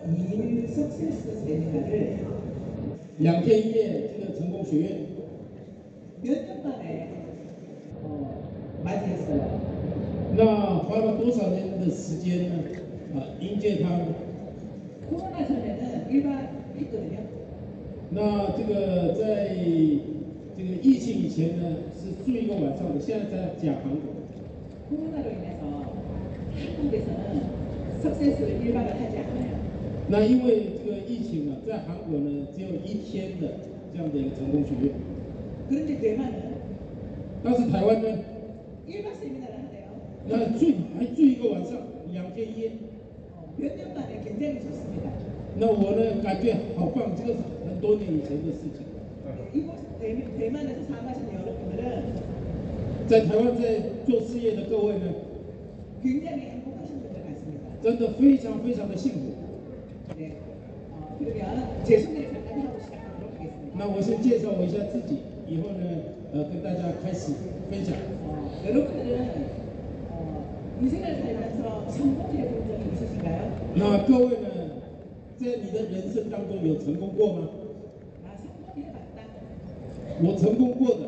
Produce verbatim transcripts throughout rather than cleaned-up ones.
일 석세스 세미나를 양天一夜这个成功学院 몇 년 만에 어, 맞이했어요. 那花了多少年的时间呢？啊，迎接他们。 코로나 전에는 일반 했거든요. 那这个在这个疫情以前呢，是住一个晚上的，现在在讲韩国。 코로나로 인해서 한국에서는 석세스를 일반을 하지 않아요. 那因为这个疫情啊，在韩国呢只有一天的这样的一个成功学院。 그런데 대만은 但是台湾呢， 일박 세미나를 하네요. 那住还住一个晚上，两天一夜。 어, 몇 년 만에 굉장히 좋습니다. 那我呢感觉好棒，这个是很多年以前的事情。 이곳 대, 대만에서 사업하시는 여러분들은 在台湾在做事業的各位呢， 굉장히 행복하신 분들 같습니다. 真的非常非常的幸福。 네. 어, 그러면 제 소개를 잠깐 하고 시작하도록 하겠습니다. 那我先介绍我一下自己，以后呢，呃，跟大家开始分享。 어, 여러분들은 어, 인생을 살면서 성공해 본 적이 있으신가요? 那各位呢，在你的人生当中有成功过吗？ 아, 성공해봤다. 我成功过的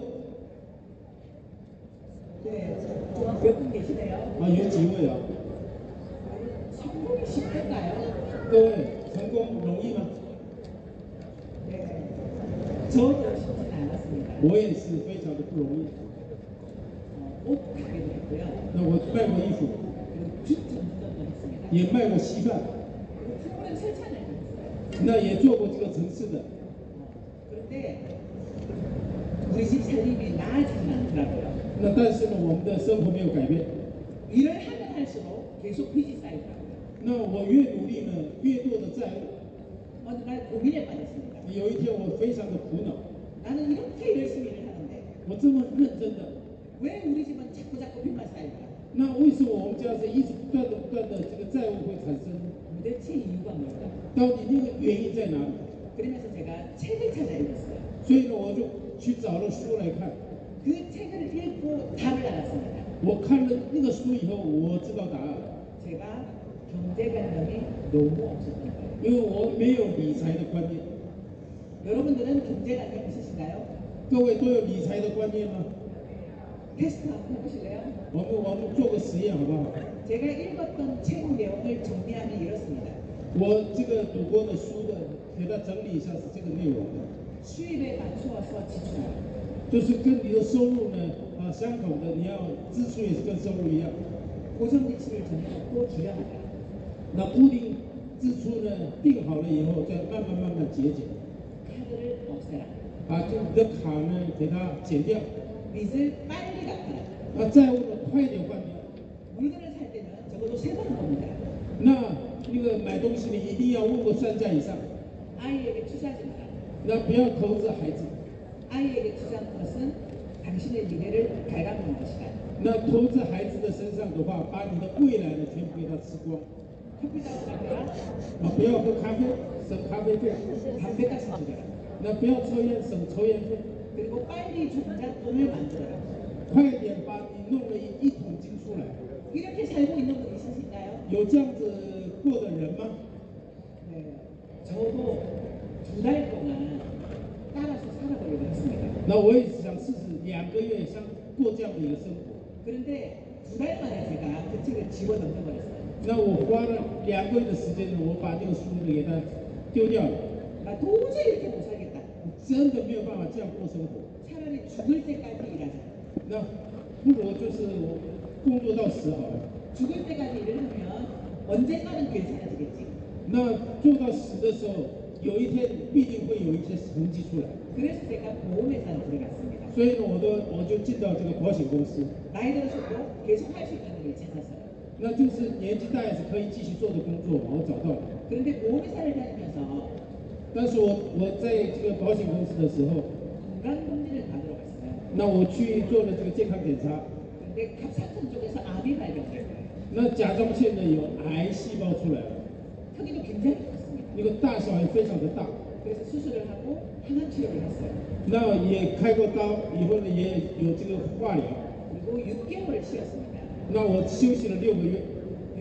네. 몇 분 계시네요. 啊，有几位啊？ 성공이 쉽던가요? 各位，成功容易吗？ 네. 저도 쉽지는 않았습니다. 我也是非常的不容易。 어, 옷 가게도 했고요. 那我卖过衣服， 그리고 주 전문점도 했습니다. 也卖过稀饭， 그리고 프로그램 설찬을 했어요. 那也做过这个城市的。 어, 그런데 우리 집 살림이 나아지진 않더라고요. 那但是呢，我们的生活没有改变。 일을 하면 할수록 계속 빚이 쌓이더라고요. 那我越努力呢，越多的债务。 어느 날 고민에 빠졌습니다. 有一天我非常的苦恼， 나는 이렇게 열심히 일을 하는데 我这么认真的， 왜 우리 집은 자꾸 자꾸 빚만 쌓일까? 那为什么我们家是一直不断的不断的这个债务会产生呢？ 도대체 이유가 뭘까? 到底那个原因在哪里？ 그러면서 제가 책을 찾아 읽었어요. 所以呢，我就去找了书来看。 그 책을 읽고 답을 알았습니다. 我看了那个书以后，我知道答案， 제가 경제관념이 너무 없었던 거예요. 因为我没有理财的观念。 여러분들은 경제관념 있으신가요? 各位都有理财的观念吗？ 테스트 한번 해보실래요? 我们我们做个实验好不好？ 제가 읽었던 책 내용을 정리하면 이렇습니다. 我这个读过的书的，给它整理一下是这个内容的， 수입에 맞추어서 지출하라. 就是跟你的收入呢啊相同的，你要支出也是跟收入一样。 고정 지출을 정해놓고 줄여나가라. 那固定支出呢定好了以后，再慢慢慢慢节俭， 카드를 없애라. 把这你的卡呢给它减掉， 빚을 빨리 갚아라. 啊债务呢快一点还掉。 물건을 살 때는 적어도 세 번은 봅니다. 那那个买东西呢一定要问过三家以上， 아이에게 투자하지 마라. 那不要投資孩子。 아이에게 투자하는 것은 당신의 미래를 갉아먹는 것이다. 那投資孩子的身上的話，把你的未来呢全部給他吃光。 커피 사고 가거라. 啊，不要喝咖啡，省咖啡費。 담배값을 줄여라. 那不要抽煙，省抽煙費。 그리고 빨리 종잣돈을 만들어라. 快一點把你弄了一一桶金出來。 이렇게 살고 있는 분 있으신가요? 有這樣子過的人嗎？ 네. 저도 두 달 동안 따라서 살아보려고 했습니다. 那我也是想試試兩個月像過這樣的一個生活。 그런데 두 달 만에 제가 그 책을 집어 던져버렸어요. 那我花了兩個月的時間呢，我把這個書呢給它丟掉了。 나 도저히 이렇게 못 살겠다. 真的沒有辦法這樣過生活。 차라리 죽을 때까지 일하자. 那不如就是我工作到死好了。 죽을 때까지 일을 하면 언젠가는 괜찮아지겠지. 那做到死的时候，有一天必定會有一些成績出來。 그래서 제가 보험회사에 들어갔습니다. 所以呢，我都我就進到這個保險公司。 나이 들어서도 계속 할 수 있는 일을 찾았어요. 那就是年紀大也是可以繼續做的工作，我找到了。 그런데 보험회사를 다니면서 但是我我在這個保險公司的時候， 건강검진을 받으러 갔어요. 那我去做了這個健康檢查， 근데 갑상선 쪽에서 암이 발견됐어요. 那甲狀腺呢有癌細胞出來了， 크기도 굉장히 컸습니다. 那個大小也非常的大。 그래서 수술을 하고 항암 치료를 했어요. 那也開過刀，以後呢也有這個化療。 그리고 육 개월을 쉬었습니다. 那我休息了六個月。 육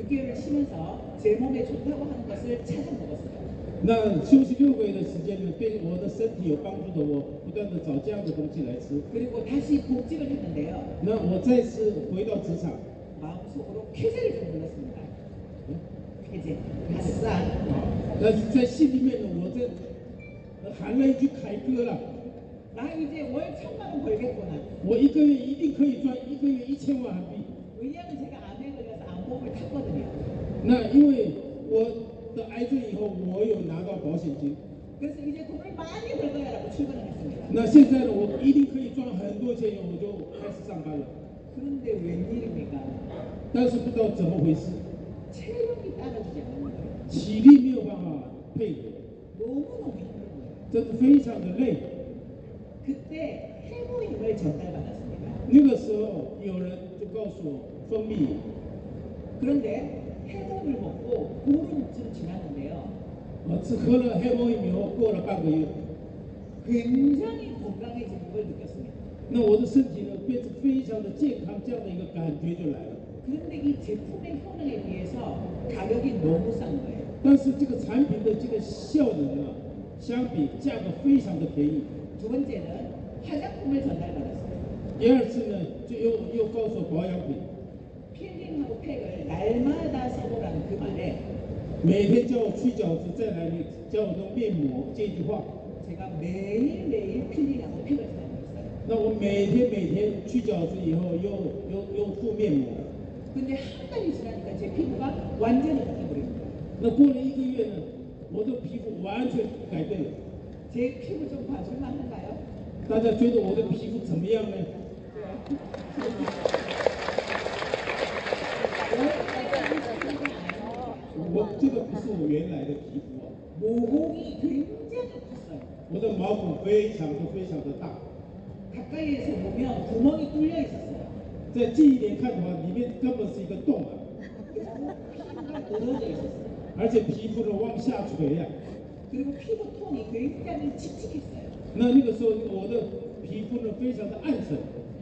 육 개월을 쉬면서 제 몸에 좋다고 하는 것을 찾아 먹었어요. 那休息六个月的时间呢，对我的身体有帮助的，我不断的找这样的东西来吃。 그리고 다시 복직을 했는데요. 那我再次回到职场， 마음속으로 쾌재를 좀 불렀습니다. 쾌재, 아싸. 但是在心里面呢，我这喊了一句凯歌了， 나 이제 월 천만 원 벌겠구나. 我一个月一定可以赚一个月一千万韩币。 왜냐하면 제가 암에 걸려서 암복을 탔거든요. 那因为我得癌症以后，我有拿到保险金。 그래서 이제 돈을 많이 벌 거야라고 출근을 했습니다. 那现在呢，我一定可以赚很多钱以后，我就开始上班了。 그런데 웬일입니까? 但是不知道怎么回事， 체력이 따라주지 않는 거예요. 体力没有办法配合， 너무너무 힘든 거예요. 真的非常的累。 그때 해모임을 전달받았습니다. 那个时候有人就告诉我蜂蜜， 그런데 해모임을 먹고 보름쯤 지났는데요. 我只喝了黑魔以后，过了半个月， 굉장히 건강해지는 걸 느꼈습니다. 那我的身体呢变得非常的健康，这样的一个感觉就来了。 그런데 이 제품의 효능에 비해서 가격이 너무 싼 거예요. 但是这个产品的这个效能啊，相比价格非常的便宜。 두 번째는 화장품을 전달받았어요. 第二次呢，就又又告诉我保养品， 필링하고 팩을 날마다 써보라는 그 말에 每天叫我去角质，再来你叫我弄面膜这句话。 제가 매일매일 필링하고 팩을 사용했어요. 那我每天每天去角质以后，又又又敷面膜。 근데 한 달이 지나니까 제 피부가 완전히 바뀌어버립니다. 那过了一个月呢，我的皮肤完全改变了。 제 피부 좀 봐줄만 한가요? 大家觉得我的皮肤怎么样呢？ 我这个不是我原来的皮肤啊， 모공이 굉장히 컸어요. 我的毛孔非常的非常的大， 가까이에서 보면 구멍이 뚫려 있었어요. 在近一点看的话，里面根本是一个洞啊， 피부가 늘어져 있었어요. 而且皮肤呢往下垂呀、啊。 그리고 피부 톤이 굉장히 칙칙했어요. 那那个时候我的皮肤呢非常的暗沉，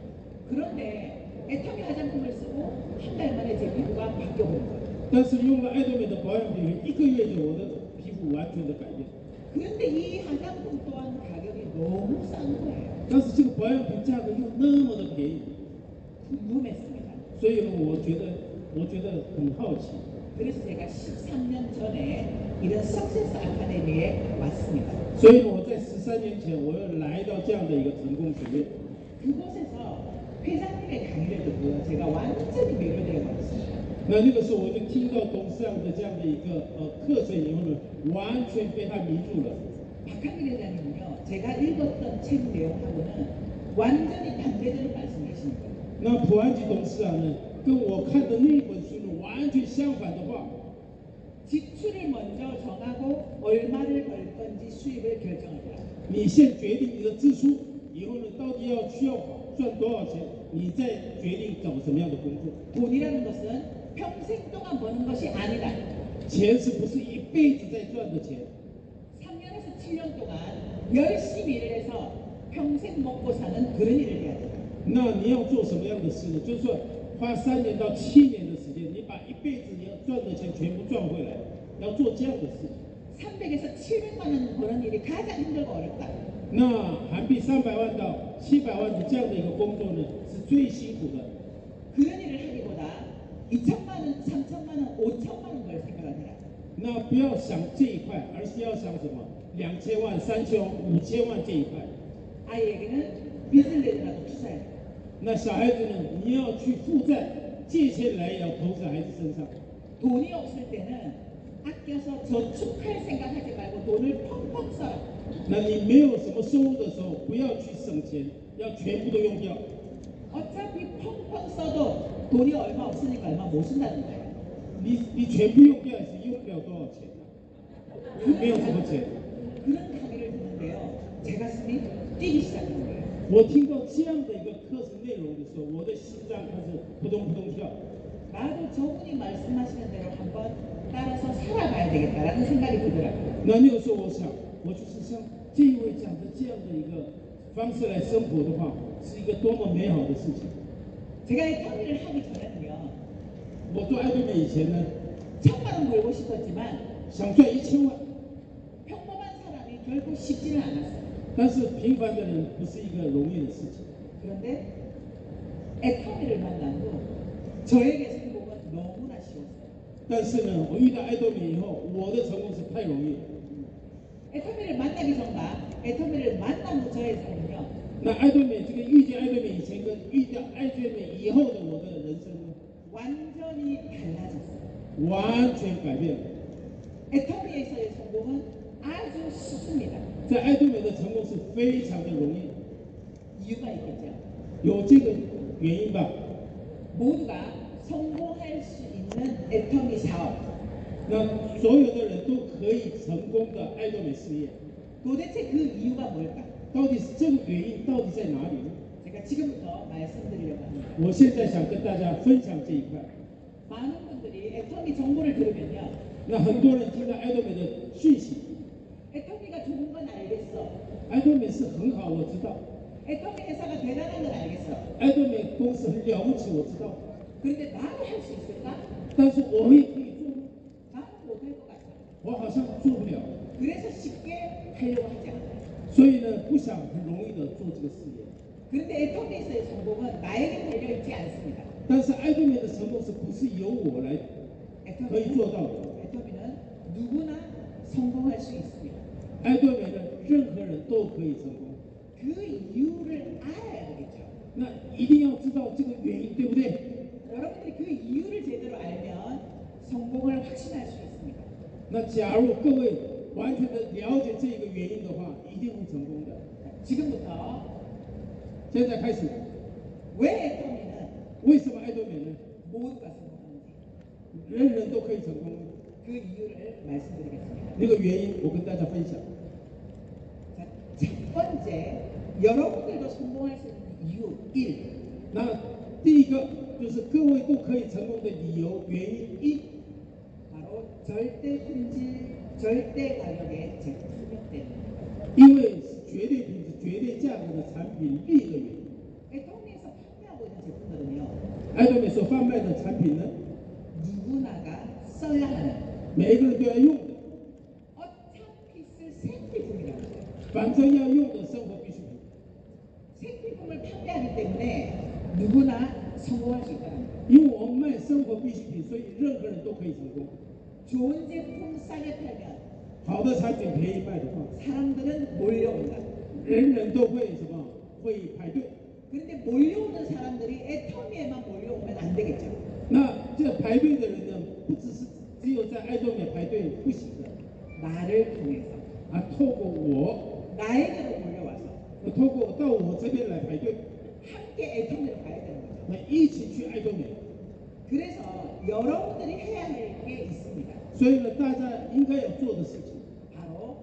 그런데 애터미 화장품을 쓰고 한 달 만에 제 피부가 바뀌어버린 거예요. 但是用了爱多美的保养品，一个月就我的皮肤完全的改变。 그런데 이 화장품 또한 가격이 너무 싼 거예요. 但是这个保养品价格又那么的便宜， 궁금했습니다. 所以呢，我觉得我觉得很好奇。 그래서 제가 십삼 년 전에 이런 석세스 아카데미에 왔습니다. 所以呢，我在十三年前，我又来到这样的一个成功学院。 그곳에서 회장님의 강의를 듣고요. 제가 완전히 매료되어 버렸습니다. 那那个时候，我就听到董事长的这样的一个呃課程以後呢，完全被他迷住了。 박한길 회장님은요. 제가 읽었던 책 내용하고는 완전히 반대되는 말씀이신 거예요. 那普安吉董事長呢，跟我看的那本書呢，完全相反的話。 지출을 먼저 정하고 얼마를 벌 건지 수입을 결정하라. 你先決定你的支出，以後呢，到底要需要賺多少錢，你再決定找什麼樣的工作。 돈이라는 것은 평생 동안 버는 것이 아니다. 錢是不是一輩子在賺的錢？ 삼 년에서 칠 년 동안 열심히 일을 해서 평생 먹고 사는 그런 일을 해야 된다. 那你要做什麼樣的事呢？就是說花三年到七年的時間，你把一輩子你要賺的錢全部賺回來，要做這樣的事。 삼백에서 칠백만 원 버는 일이 가장 힘들고 어렵다. 那韓幣三百萬到七百萬的這樣的一個工作呢，是最辛苦的。 그런 일을 하기보다 이천만 원, 삼천만 원, 오천만 원 벌 생각을 해라. 那不要想這一塊，而是要想什麼？兩千萬、三千萬、五千萬這一塊。 아이에게는 빚을 내더라도 투자해라. 那小孩子呢？你要去負債，借錢來也要投在孩子身上。 돈이 없을 때는 아껴서 저축할 생각하지 말고 돈을 펑펑 써라. 那你沒有什麼收入的時候，不要去省錢，要全部都用掉。 어차피 펑펑 써도 돈이 얼마 없으니까 얼마 못 쓴다는 거예요. 你你全部用掉也是用不了多少錢啊，沒有什麼錢。 그런 강의를 듣는데요. 제 가슴이 뛰기 시작한 거예요. 我聽到這樣的一個課程內容的時候，我的心臟開始撲通撲通跳。 나도 저분이 말씀하시는 대로 한번 따라서 살아봐야 되겠다라는 생각이 들더라고요. 那那個時候我想，我就是像這一位講的這樣的一個方式來生活的話，是一個多麼美好的事情。 제가 이 강의를 하기 전에는요. 我做爱多美以前呢， 천만 원 벌고 싶었지만 想赚一千万， 평범한 사람이 결코 쉽지는 않았어요. 但是平凡的人不是一个容易的事情。 그런데 애터미를 만나고 저에게 성공은 너무나 쉬웠어요. 但是呢，我遇到爱多美以后，我的成功是太容易了。 애터미를 만나기 전과 애터미를 만난 후 저의 삶은요. 那爱多美这个遇见爱多美以前跟遇到爱多美以后的我的人生呢， 완전히 달라졌어요. 完全改变了。 애터미에서의 성공은 아주 쉽습니다. 在爱多美的成功是非常的容易， 이유가 있겠죠. 有这个原因吧。 모두가 성공할 수 있는 애터미 사업. 那所有的人都可以成功的爱多美事业， 도대체 그 이유가 뭘까? 到底是这个原因到底在哪里呢？ 제가 지금부터 말씀드리려고 합니다. 我现在想跟大家分享这一块。 많은 분들이 애터미 정보를 들으면요. 那很多人听到爱多美的讯息， 애터미가 좋은 건 알겠어. 爱多美是很好，我知道， 애터미 회사가 대단한 건 알겠어. 爱多美公司很了不起，我知道， 그런데 나도 할 수 있을까? 但是我也可以做吗？ 나는 못할 것 같아. 我好像做不了， 그래서 쉽게 하려고 하지 않아요. 所以呢，不想很容易的做这个事业。 그런데 애터미에서의 성공은 나에게 달려있지 않습니다. 但是爱多美的成功是不是由我来可以 애터미는, 做到的？ 애터미는 누구나 성공할 수 있습니다. 爱多美呢，任何人都可以成功。 그 이유를 알아야 되겠죠. 那一定要知道这个原因，对不对？ 여러분들이 그 이유를 제대로 알면 성공을 확신할 수 있습니다. 那假如各位完全的了解这个原因的话，一定会成功的。 지금부터 现在开始， 왜 애터미는 为什么爱多美呢？ 모두가 성공하는지 人人都可以成功呢？ 그 이유를 말씀드리겠습니다. 那个原因我跟大家分享。 자, 첫 번째, 여러분들도 성공할 수 있는 이유 일. 那第一个就是各位都可以成功的理由原因一， 바로 절대 품질, 절대 가격의 제품 수명 때문입니다. 因为是绝对品质、绝对价格的产品力的原因。 애터미에서 판매하고 있는 제품들은요, 爱多美所贩卖的产品呢， 누구나가 써야 하는, 每一个人都要用的， 어차피 쓸 생필품이라고 해요. 反正要用的生活必需品。 생필품을 판매하기 때문에 누구나 성공할 수 있다는 거예요. 因为我们卖生活必需品，所以任何人都可以成功。 좋은 제품 싸게 팔면 好的产品便宜卖的话， 사람들은 몰려온다. 人人都会什么？会排队。 그런데 몰려오는 사람들이 애터미에만 몰려오면 안 되겠죠. 那这排队的人呢，不只是只有在爱多美排队不行的， 나를 통해서 啊，透过我， 나에게로 몰려와서 透过到我这边来排队， 함께 애터미로 가야 되는 거죠. 那一起去爱多美。 그래서 여러분들이 해야 할 게 있습니다. 所以呢，大家应该要做的事情， 바로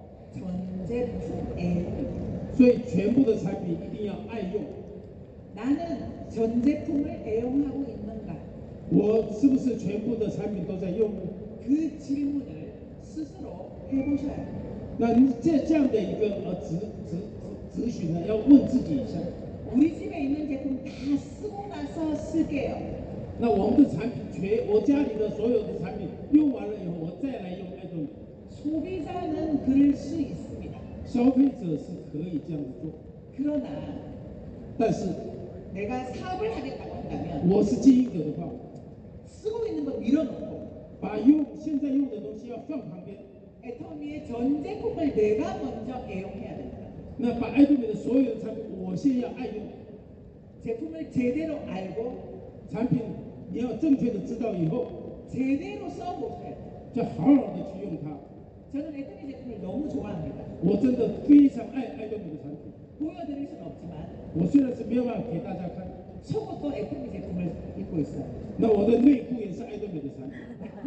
전제품 애용입니다. 所以全部的产品一定要爱用。 나는 전 제품을 애용하고 있는가? 我是不是全部的产品都在用呢？ 그 질문을 스스로 해보셔야 합니다. 那你这这样的一个呃咨咨咨咨询呢，要问自己一下。 우리 집에 있는 제품 다 쓰고 나서 쓸게요. 那我们的产品全，我家里的所有的产品用完了以后，我再来用爱多美。 소비자는 그럴 수 있습니다. 消费者是可以这样子做， 그러나 但是 내가 사업을 하겠다고 한다면 我是经营者的话， 쓰고 있는 거 밀어놓고 把用现在用的东西要放旁边， 애터미의 전 제품을 내가 먼저 애용해야 됩니다. 那把爱多美的所有的产品，我先要爱用。 제품을 제대로 알고 产品你要正确的知道以后， 제대로 써보셔야 돼요. 就好好的去用它。 저는 애터미 제품을 너무 좋아합니다. 我真的非常爱爱多美的产品。 보여드릴 수는 없지만 我虽然是没有办法给大家看， 속옷도 애터미 제품을 입고 있어요. 那我的内裤也是爱多美的产品。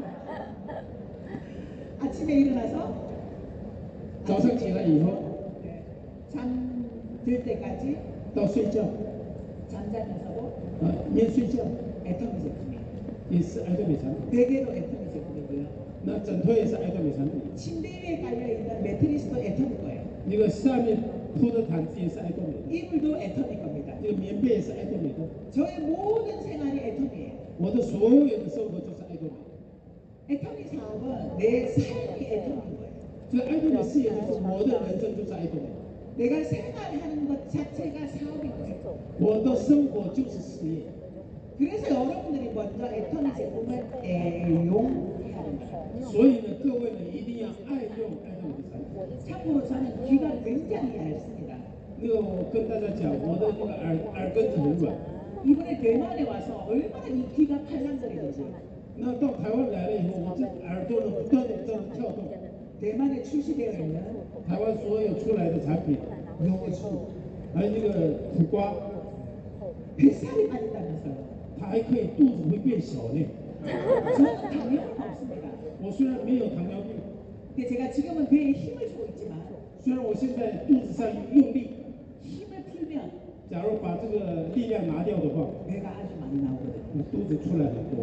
아침에 일어나서 早上起来以后 네, 잠들 때까지 到睡觉， 잠자면서도 啊，连睡觉 애터미 제품이에요. 也是爱多美产品。 베개도 애터미 제품이고요. 那枕头也是爱多美产品。 침대 위에 깔려있는 매트리스도 애터미 거예요. 那个下面铺的毯子也是爱多美的。 이불도 애터미 겁니다. 这个棉被也是爱多美的， 저의 모든 생활이 애터미예요. 我的所有的生活就是爱多美。 애터미 사업은 내 삶이 애터미인 거예요. 所以爱多美事业就是我的人生就是爱多美， 내가 생활하는 것 자체가 사업인 거예요. 我的生活就是事业。 그래서 여러분들이 먼저 애터미 제품을 애용해야 된다. 所以呢，各位呢一定要爱用爱多美的产品。 참고로 저는 귀가 굉장히 얇습니다. 那个我跟大家讲，我的那个耳耳根子很软。 이번에 대만에 와서 얼마나 이 귀가 팔랑거리는지. 那到台湾来了以后，我这耳朵呢不断的这样跳动。 대만에 출시되어 있는 台湾所有出来的产品， 요수 还有那个苦瓜， 뱃살이 빠진다면서요. 它还可以肚子会变小呢。 저는 당뇨는 없습니다. 我虽然没有糖尿病， 근데 제가 지금은 배에 힘을 주고 있지만 虽然我现在肚子上用力， 힘을 풀면 假如把这个力量拿掉的话， 배가 아주 많이 나오거든요. 我肚子出来很多。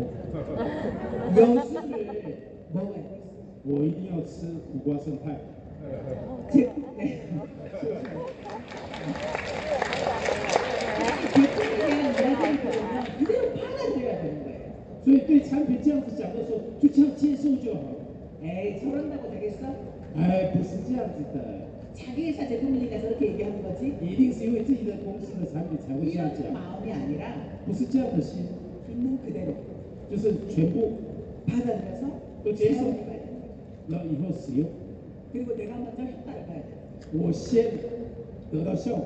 여수를 먹어야 돼요. 我一定要吃苦瓜生态。 제품, 네. 제품에 대한 이야기를 들으면 그대로 받아들여야 되는 거예요. 所以对产品这样子讲的时候，就这样接受就好。 에이, 저런다고 되겠어? 哎，不是这样子的， 자기 회사 제품이니까 저렇게 얘기하는 거지? 一定是因为自己的公司的产品才会这样 이런 讲， 마음이 아니라 不是这样的心， 있는 그대로 就是全部 받아들여서 또 제소. 사용해봐야 돼요. 要以后使用。 그리고 내가 먼저 효과를 봐야 돼요. 我先得到效果，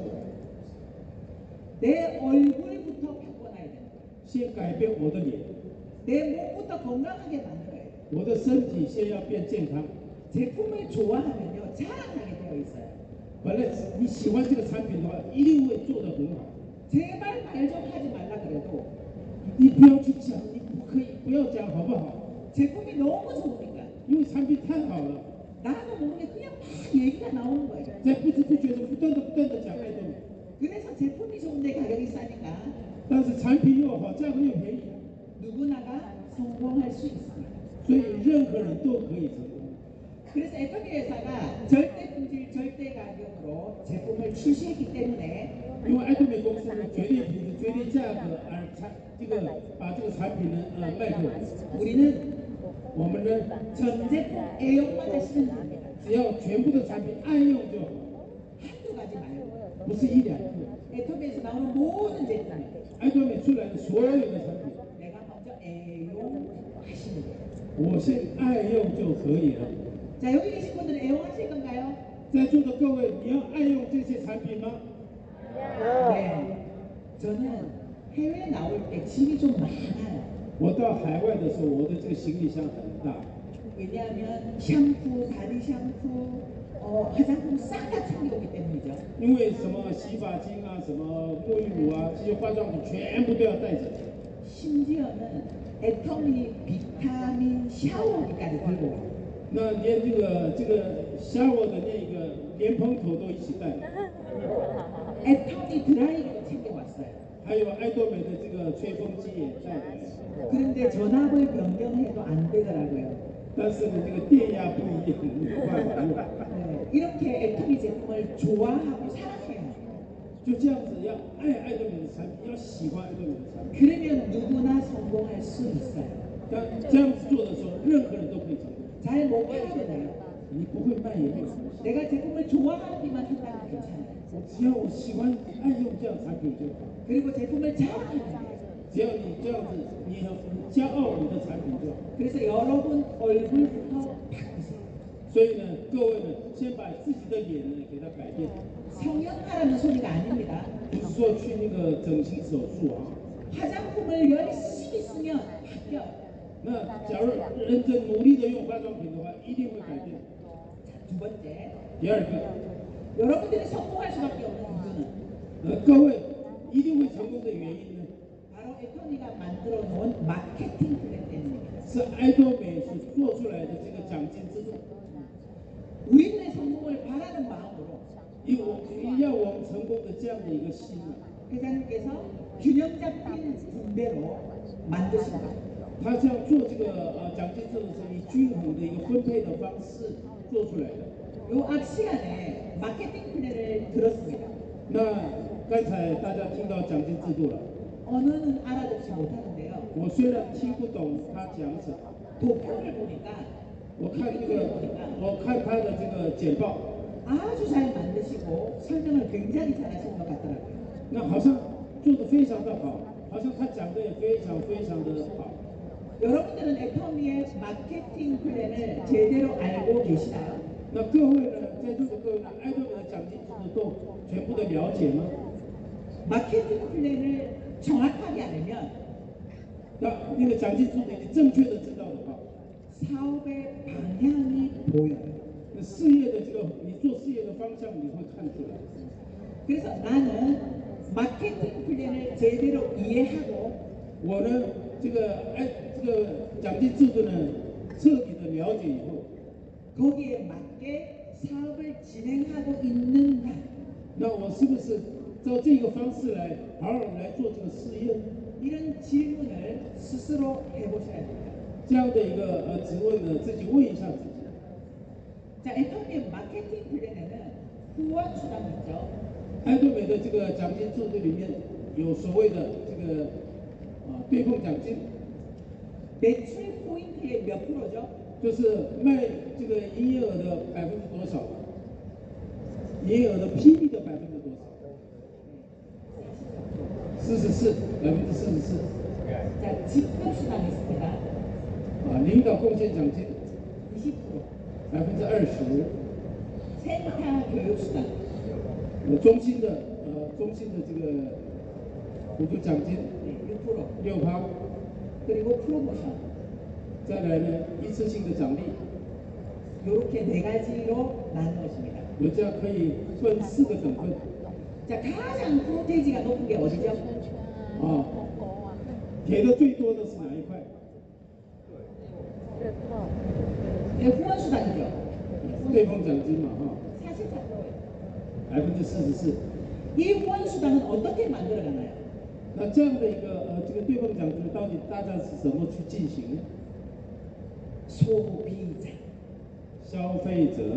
내 얼굴부터 바꿔놔야 돼요. 先改变我的脸， 내 몸부터 건강하게 만들어야 돼요. 我的身体先要变健康。 제품을 좋아하면요 자랑하게 되어 있어요. 本来你喜欢这个产品的话，一定会做得很好。 제발 말 좀 하지 말라 그래도 你不要去讲，你不可以不要讲好不好？ 제품이 너무 좋으니까 因为产品太好了， 나도 모르게 그냥 막 얘기가 나오는 거예요. 在不知不觉中不断的不断的讲爱多美， 그래서 제품이 좋은데 가격이 싸니까 但是产品又好，价格又便宜， 누구나가 성공할 수 있습니다. 所以任何人都可以成功。 그래서 애터미 회사가 절대 품질, 절대 가격으로 제품을 출시했기 때문에 因为爱多美公司呢，绝对品质、绝对价格而产这个把这个产品呢呃卖给我们， 우리는 我们呢 전 제품 애용만 하시면 됩니다. 只要全部的产品爱用就好， 한두 가지 말고 不是一两个。 애터미에서 나오는 모든 제품 爱多美出来的所有的产品， 내가 먼저 애용하시면 돼요. 我先爱用就可以了。 자, 여기 계신 분들은 애용하실 건가요? 在座的各位，你要爱用这些产品吗？ 네. 저는 해외 나올 때 짐이 좀 많아요. 我到海外的时候，我的这个行李箱很大， 왜냐하면 샴푸, 바디 샴푸, 어, 화장품 싹 다 챙겨오기 때문이죠. 因为什么洗发精啊、什么沐浴乳啊，这些化妆品全部都要带着。 심지어는 애터미 비타민 샤워기까지 들고 와요. 那连这个这个 shower 的那个莲蓬头都一起带， 애터미 드라이기도 챙겨왔어요. 还有爱多美的这个吹风机也带来。 그런데 전압을 변경해도 안 되더라고요. 但是呢，这个电压不一样，没有办法用。 네, 이렇게 애터미 제품을 좋아하고 사랑해요. 就这样子，要爱爱多美的产品，要喜欢爱多美的产品。 그러면 누구나 성공할 수 있어요. 当这样子做的时候，任何人都可以成功。 잘 못 팔아도 돼요. 你不会卖也没有关系， 내가 제품을 좋아하기만 한다면 괜찮아요. 我只要我喜欢爱用这样产品就好。 그리고 제품을 자랑하면 돼요. 只要你这样子，你很骄傲你的产品就好。 그래서 여러분 얼굴부터 바꾸세요. 所以呢，各位呢，先把自己的脸呢给它改变， 성형하라는 소리가 아닙니다. 不是说去那个整形手术啊。 화장품을 열심히 쓰면 바뀌어요. 那假如认真努力的用化妆品的话，一定会改变。 두 번째, 第二个， 여러분들이 성공할 수밖에 없는 이유는 呃，各位一定会成功的原因呢， 바로 애터미가 만들어 놓은 마케팅 플랜 때문입니다. 是爱多美所做出来的这个奖金制度。 우리들의 성공을 바라는 마음으로 以我要我们成功的这样的一个心啊， 회장님께서 균형 잡힌 분배로 만드신 거예요. 他这样做这个呃奖金制度是以均衡的一个分配的方式做出来的。 요 앞 시간에 마케팅 플랜을 들었습니다. 那刚才大家听到奖金制度了， 언어는 알아듣지 못하는데요. 我虽然听不懂他讲什么， 도표를 보니까 我看这个，我看他的这个简报， 아주 잘 만드시고 설명을 굉장히 잘하시는 것 같더라고요. 那好像做得非常的好，好像他讲的也非常非常的好。 여러분들은 애터미의 마케팅 플랜을 제대로 알고 계시나요? 那各位呢，在座的各位呢，爱多美的奖金制度都全部的了解吗？ 마케팅 플랜을 정확하게 알면 那那个奖金制度你正确的知道的话， 사업의 방향이 보여요. 那事业的这个你做事业的方向你会看出来。 그래서 나는 마케팅 플랜을 제대로 이해하고 我呢，这个哎，这个奖金制度呢，彻底的了解以后， 거기에 맞게 사업을 진행하고 있는가? 那我是不是照这个方式来好好来做这个事业？ 이런 질문을 스스로 해보셔야 됩니다. 这样的一个呃质问呢，自己问一下自己。 자, 애터미의 마케팅 플랜에는 후원 수당이 있죠. 爱多美的这个奖金制度里面有所谓的这个啊对碰奖金， 매출 포인트의 몇 프로죠? 就是卖这个营业额的百分之多少？营业额的 P B 的百分之多少？四十四，百分之四十四。 자, 직급 수당이 있습니다. 啊，领导贡献奖金 이십 퍼센트. 百分之二十。 센터 교육 수당. 呃，中心的呃中心的这个补助奖金 네, 육 퍼센트. 六趴。 그리고 프로모션. 再来呢，一次性的奖励， 이렇게 네 가지로 나누어집니다. 有这样可以分四个等份。 자, 가장 프로테이지가 높은 게 어디죠? 啊，给的最多的是哪一块？ 네, 후원 수당이죠. 对碰奖金嘛，哈， 사십사 퍼센트. 百分之四十四。 이 후원 수당은 어떻게 만들어가나요? 那这样的一个呃这个对碰奖金到底大家是怎么去进行呢？ 소비자. 消费者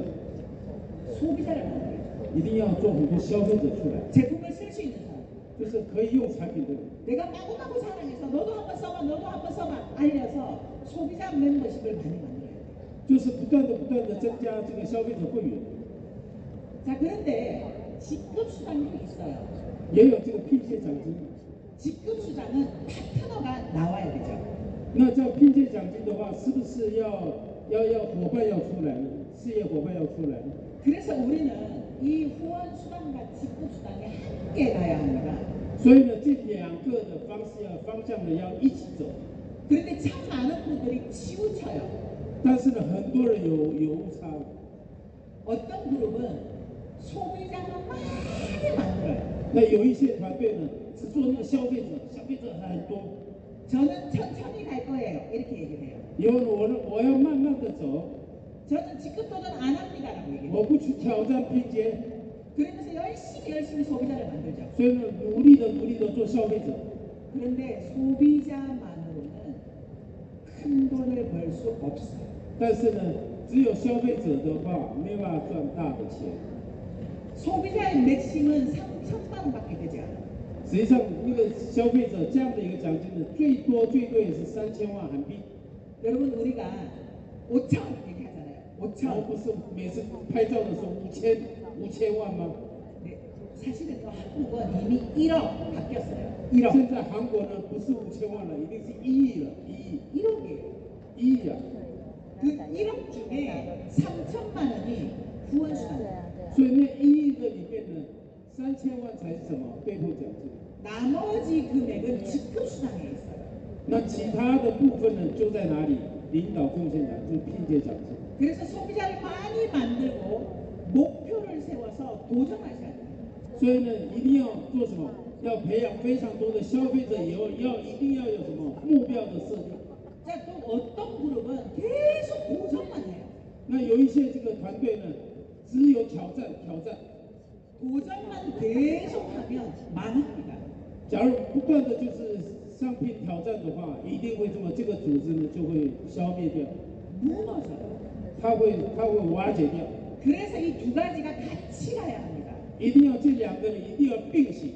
소비자를 만들어요. 一定要做很多消费者出来， 제품을 쓸 수 있는 사람. 就是可以用产品的人。 내가 마구마구 사랑해서 너도 한번 써봐, 너도 한번 써봐 알려서 소비자 멤버십을 많이 만들어야 돼. 就是不断的不断的增加这个消费者会员， 자, 그런데 직급 수당도 있어요. 也有这个聘借奖金。 직급 수당은 파트너가 나와야 되죠. 那这样聘借奖金的话，是不是要要要伙伴要出来呢？事业伙伴要出来呢？ 그래서 우리는 이 후원 수당과 직급 수당이 함께 가야 합니다. 所以呢，这两个的方式要方向呢要一起走。 그런데 참 많은 분들이 치우쳐요. 但是呢，很多人有有误差。 어떤 그룹은 소비자만 많이 만들어요. 那有一些团队呢，只做那个消费者，消费者很多。 저는 천천히 갈 거예요. 이렇게 얘기를 해요. 以后呢，我呢，我要慢慢的走， 저는 직급 도전 안 합니다라고 얘기해요. 我不去挑战拼接， 그러면서 열심히 열심히 소비자를 만들죠. 所以呢，努力的努力的做消费者。 그런데 소비자만으로는 큰 돈을 벌 수 없어요. 但是呢，只有消费者的话，没办法赚大的钱。 소비자의 맥심은 삼천만 원밖에 되지 않아요. 实际上，那个消费者这样的一个奖金呢，最多最多也是三千万韩币。 여러분 우리가 오천 얘기하잖아요. 而 오천. 不是每次拍照的时候五千五千万吗？ 네, 사실은 또 한국은 이미 일억 바뀌었어요. 일억. 现在韩国呢，不是五千万了，已经是一亿了，一亿， 일억이에요. 一亿啊！ 그 일억 중에 삼천만 원이 후원 수당. 所以那一亿的里面呢，三千万才是什么对碰奖金？ 나머지 금액은 직급 수당에 있어요. 那其他的部分呢，就在哪里？领导贡献奖金、聘借奖金。 그래서 소비자를 많이 만들고 목표를 세워서 도전하셔야 돼요. 所以呢，一定要做什么？要培养非常多的消费者，以后要一定要有什么目标的设定。 자, 또 어떤 그룹은 계속 도전만 해요. 那有一些这个团队呢，只有挑战挑战。 도전만 계속하면 망합니다. 假如不断的就是商品挑战的话，一定会这么这个組織呢就會消滅掉， 무너져요. 它會它會瓦解掉。 그래서 이 두 가지가 같이 가야 합니다. 一定要这两个人一定要并行，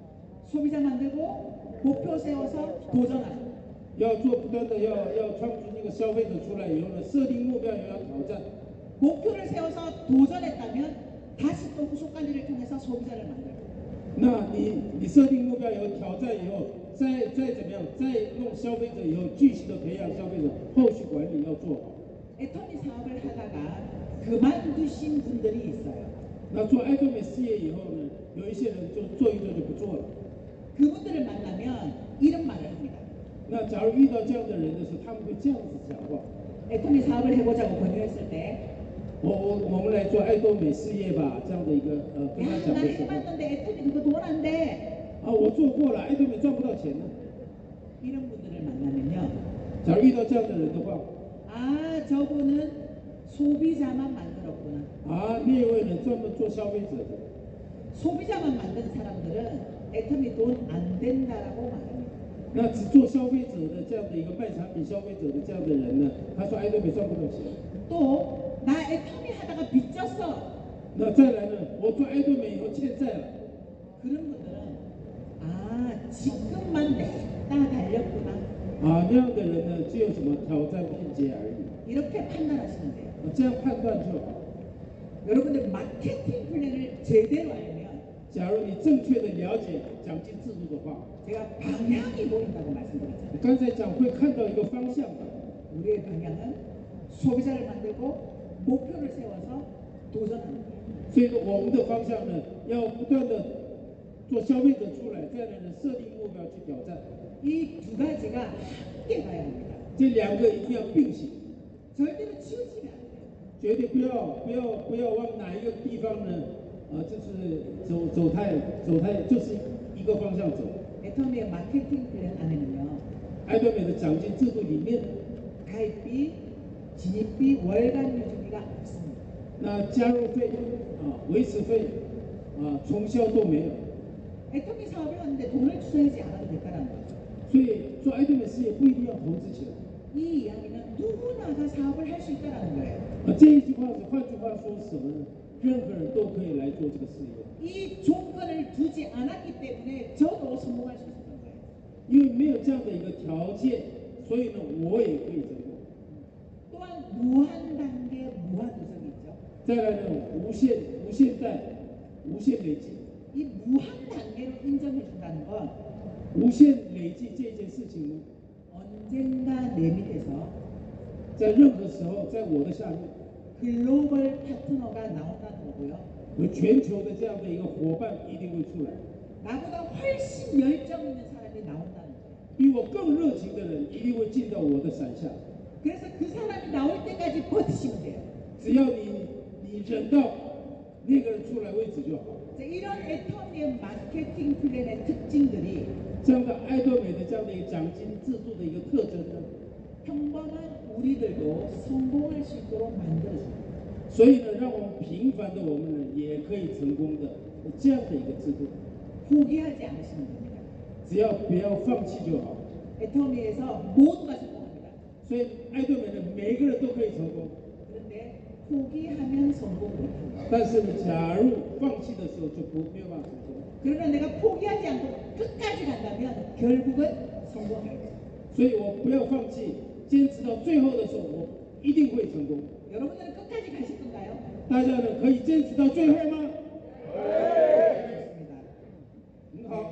소비자 만들고 목표 세워서 도전하고 要做不断的要要创出这个消费者出来以后呢，设定目标也要挑战。 목표를 세워서 도전했다면 다시 또 후속 관리를 통해서 소비자를 만들고 那你你设定目标以后挑战以后，再再怎么样，再弄消费者以后，继续的培养消费者，后续管理要做好。 애터미 사업을 하다가 그만두신 분들이 있어요. 那做爱多美事业以后呢，有一些人就做一做就不做了。 그분들을 만나면 이런 말을 합니다. 那假如遇到这样的人的时候，他们会这样子讲话。 애터미 사업을 해보자고 권유했을 때 我我我们来做爱多美事业吧，这样的一个呃跟他 야, 讲 나 的时候， 해봤는데 애터미 그거 돈 안 돼. 啊，我做过了，爱多美赚不到钱呢。 이런 분들을 만나면요. 假如遇到这样的人的话， 아, 저분은 소비자만 만들었구나. 啊，那位人专门做消费者的， 소비자만 만든 사람들은 애터미 돈 안 된다라고 말합니다. 那只做消费者的这样的一个卖产品消费者的这样的人呢，他说爱多美赚不到钱。 또 나 애터미 하다가 빚졌어. 那再来呢，我做爱多美以後欠債了。 그런 분들은 아, 지금만 냈다 달렸구나. 啊，那样的人呢，只有什么挑戰拼接而已。 이렇게 판단하시면 돼요. 啊，这样判断就好。 여러분들 마케팅 플랜을 제대로 알면 假如你正確的了解獎金制度的話， 제가 방향이 보인다고 말씀드렸잖아요. 我剛才講會看到一個方向的。 우리의 방향은 소비자를 만들고 목표를 세워서 도전하는 거예요. 所以我們的方向呢，要不斷的做消費者出來，再來呢設定目標去挑戰。 이 두 가지가 함께 가야 합니다. 這兩個一定要並行， 절대로 치우치면 안 돼요. 絕對不要不要不要往哪一個地方呢，啊、就是走走太走太，就是一個方向走。 애터미의 마케팅 플랜 안에는요. 愛多美的獎金制度裡面， 가입비, 진입비, 월간 유지비가 없습니다. 那加入費啊、維持費啊、重銷都沒有。 애터미 사업을 하는데 돈을 투자하지 않아도 될까라는 거죠. 所以做愛多美事業不一定要投資錢。 이 이야기는 누구나가 사업을 할 수 있다는 거예요. 啊，這一句話是換句話說什麼呢？任何人都可以來做這個事業， 이 조건을 두지 않았기 때문에 저도 성공할 수 있었던 거예요. 因為沒有這樣的一個條件，所以呢，我也可以成功。 또한 무한 단계, 무한 누적이 있죠. 再來呢，無限無限貸，無限累積。 이 무한 단계로 인정해 준다는 건 無限累積這件事情呢， 언젠가 내 밑에서 在任何時候，在我的下面， 글로벌 파트너가 나온다는 거고요. 有全球的這樣的一個夥伴一定會出來， 나보다 훨씬 열정 있는 사람이 나온다는 거예요. 比我更熱情的人一定會進到我的傘下。 그래서 그 사람이 나올 때까지 버티시면 돼요. 只要你你忍到那個人出來為止就好。 이런 애터미의 마케팅 플랜의 특징들이 這樣的愛多美的這樣的一個獎金制度的一個特徵呢， 평범한 우리들도 성공할 수 있도록 만들어줍니다. 所以呢，讓我們平凡的我們呢也可以成功的這樣的一個制度， 포기하지 않으시면 됩니다. 只要不要放棄就好。 애터미에서 모두가 성공합니다. 所以愛多美呢，每一個人都可以成功， 그런데 포기하면 성공 못합니다. 但是呢，假如放棄的時候就不沒有辦法成功。 그러나 내가 포기하지 않고 끝까지 간다면 결국은 성공할 거예요. 所以我不要放棄，堅持到最後的時候，我一定會成功。 여러분들은 끝까지 가실 건가요? 大家呢可以堅持到最後嗎？ 좋습니다. 很好。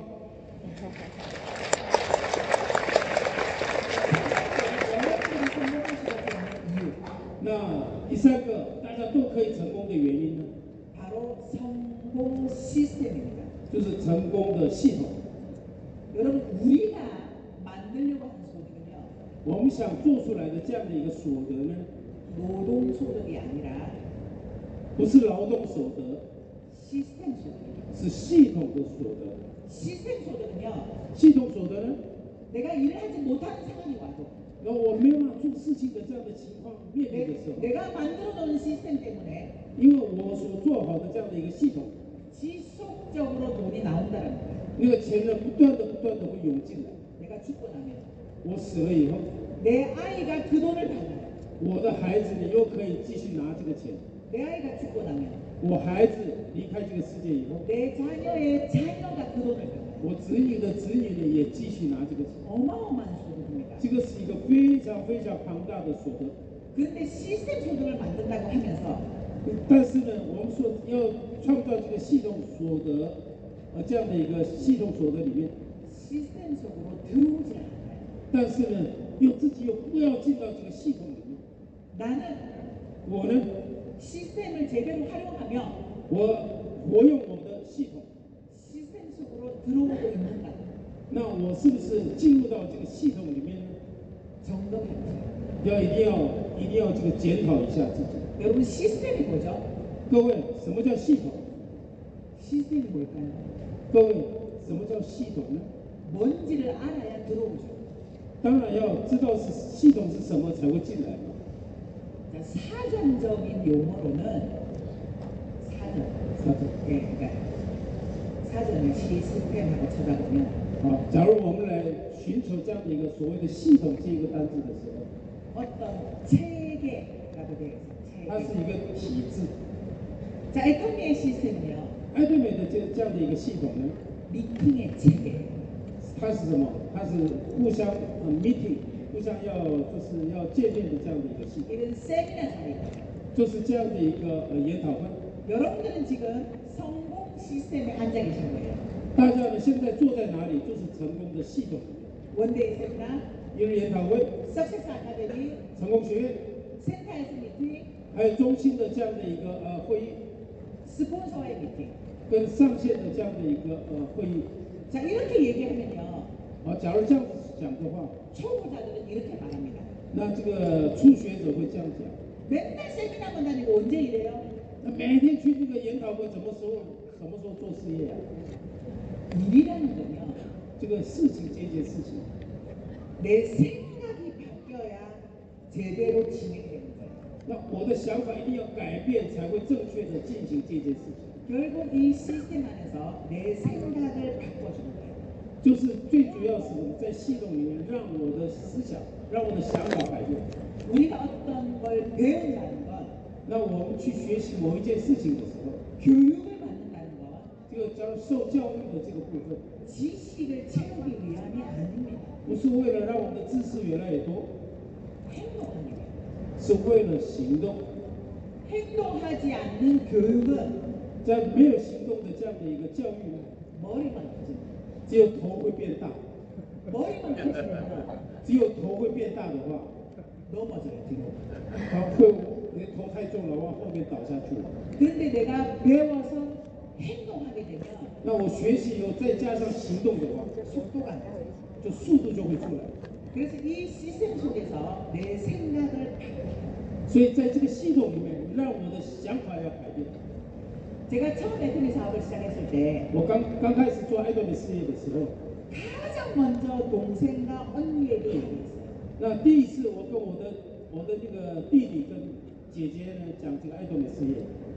여러분들이 성공할 수밖에 없는 이유 那第三個大家都可以成功的原因呢， 바로 성공 시스템입니다. 就是成功的系統。 여러분 우리가 만들려고 하는 소득은요 我們想做出來的這樣的一個所得呢， 노동 소득이 아니라 不是勞動所得， 시스템 소득입니다. 是系統的所得。 시스템 소득은요 系統所得呢， 내가 일을 하지 못하는 상황이 와도 那我沒有辦法做事情的這樣的情況面臨的時候， 내, 내가 만들어 놓은 시스템 때문에 因為我所做好的這樣的一個系統， 지속적으로 돈이 나온다는 거예요. 那個錢呢不斷的不斷的會湧進來。 내가 죽고 나면 我死了以後， 내 아이가 그 돈을 받아요. 我的孩子呢又可以繼續拿這個錢。 내 아이가 죽고 나면 我孩子离開這個世界以後， 내 자녀의 자녀가 그 돈을 받아요. 我子女的子女呢也繼續拿這個錢， 어마어마한 소득입니다. 這個是一個非常非常龐大的所得。 근데 시스템 소득을 만든다고 하면서 但是呢，我們說要創造這個系統所得，呃，這樣的一個系統所得裡面， 시스템 속으로 들어오지 않아요. 但是呢，又自己又不要進到這個系統裡面。 나는 我呢， 시스템을 제대로 활용하며 我活用我的系統， 시스템 속으로 들어오고 있는가? 那我是不是進入到這個系統裡面呢？ 점검해보세요. 要一定要一定要這個檢討一下自己。 여러분 시스템이 뭐죠? 各位，什麼叫系統？ 시스템이 뭘까요? 各位，什麼叫系統呢？ 뭔지를 알아야 들어오죠. 當然要知道是系統是什麼才會進來嘛。 자, 사전적인 용어로는 사전. 사전. 예, 그러니까 사전을 시스템하고 찾아보면 好，假如我们來尋求這樣的一個所謂的系統這一個單字的時候， 어떤 체계라고 되어 있어요. 它是 체계. 一個體制。 자, 애터미의 시스템은요. 艾多美的這這樣的一個系統呢， 미팅의 체계. 它是什麼？它是互相呃 meeting， 互相要就是要見面的這樣的一個系統， 이런 세미나 자리예요. 就是這樣的一個呃研討會。 여러분들은 지금 성공 시스템에 앉아 계신 거예요. 大家呢現在坐在哪裡？就是成功的系統裡面。 원데이 세미나, 一日研討會、 석세스 아카데미, 成功學院， 센터에서 미팅, 還有中心的這樣的一個呃會議， 스폰서와의 미팅. 跟上線的這樣的一個呃會議。 자, 이렇게 얘기하면요. 好，假如這樣子講的話， 초보자들은 이렇게 말합니다. 那這個初學者會這樣講。 맨날 세미나만 다니고 언제 이래요? 那每天去那個研討會，什麼時候什麼時候做事業啊？ 일이라는 건요. 這個事情這件事情， 내 생각이 바뀌어야 제대로 진행되는 거예요. 那我的想法一定要改變，才會正確的進行這件事情。 결국 이 시스템 안에서 내 생각을 바꿔주는 거예요. 就是最主要是在系統裡面，讓我的思想，讓我的想法改變。 우리가 어떤 걸 배운다는 건 那我們去學習某一件事情的時候， 교육을 받는다는 건 這個將受教育的這個部分， 지식을 채우기 위함이 아닙니다. 不是為了讓我們的知識越來越多， 행동합니다. 是為了行動。 행동하지 않는 교육은 在沒有行動的這樣的一個教育呢， 머리만 커집니다. 只有頭會變大。 머리만 커지면 只有頭會變大的話， 넘어져요, 뒤로. 它會你的頭太重了，往後面倒下去了。 그런데 내가 배워서 행동하게 되면 那我學習以後再加上行動的話， 속도가 나요. 就速度就會出來。 그래서 이 시스템 속에서 내 생각을 바꿔요. 所以在這個系統裡面，讓我的想法要改變。 제가 처음 애터미 사업을 시작했을 때 我剛剛開始做愛多美事業的時候， 가장 먼저 동생과 언니에게 얘기했어요. 那第一次我跟我的我的那個弟弟跟姐姐呢講這個愛多美事業。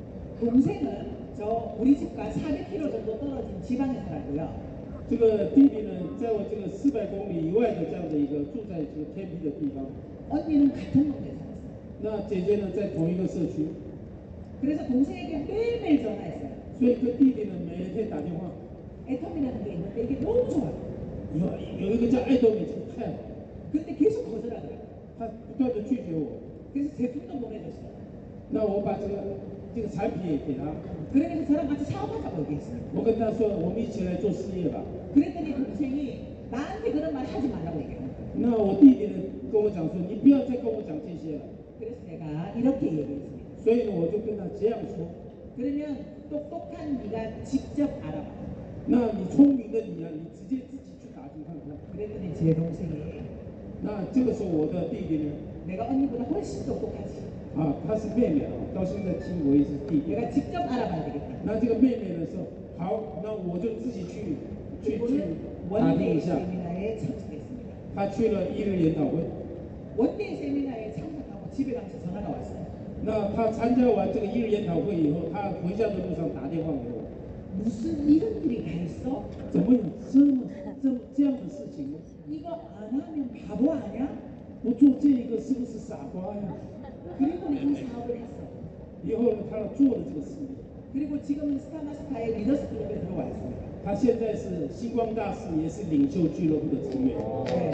동생은 저 우리 집과 사백 킬로미터 정도 떨어진 지방에 살고요. 這個弟弟呢，在我這個四百公里以外的這樣的一個住在這個偏僻的地方。 언니는 같은 동네에 살았어요. 那姐姐呢，在同一個社區， 그래서 동생에게 매일매일 전화했어요. 所以跟弟弟呢每天打電話。 애터미라는 게 있는데 이게 너무 좋아요. 有有一個叫愛多美，這個太好， 근데 계속 거절하더라고요. 他不斷的拒絕我。 그래서 제품도 보내줬어요. 那我把這個這個產品也給他， 그러면서 저랑 같이 사업하자고 얘기했어요. 我跟他說，我們一起來做事業吧。 그랬더니 동생이 나한테 그런 말 하지 말라고 얘기해요. 那我弟弟呢跟我講說，你不要再跟我講這些了。 그래서 내가 이렇게 얘기했습니다. 所以呢，我就跟他這樣說。 그러면 똑똑한 네가 직접 알아봐. 那你聰明的你啊，你直接自己去打聽看看。 그랬더니 제 동생이 那這個時候我的弟弟呢， 내가 언니보다 훨씬 똑똑하지. 啊，他是妹妹啊，到現在聽我也是弟弟。 내가 직접 알아봐야 되겠다. 那這個妹妹呢說，好，那我就自己去去去 오늘 打聽 원데이 一下。 세미나에 참석했습니다. 他去了一日研討會。 원데이 세미나에 참석하고 집에 가면서 전화가 왔어요. 那他參加完這個一日研討會以後，他回家的路上打電話給我， 무슨 이런 일이 다 있어? 怎麼有這麼這麼這樣的事情呢？ 이거 안 하면 바보 아니야? 不做這個是不是傻瓜呀？ 그리고 이 사업을 했어. 以後呢，他做了這個事業。 그리고 지금은 스타마스타의 리더스 클럽에 들어와 있습니다. 他现在是星光大使，也是领袖俱乐部的成员。 네.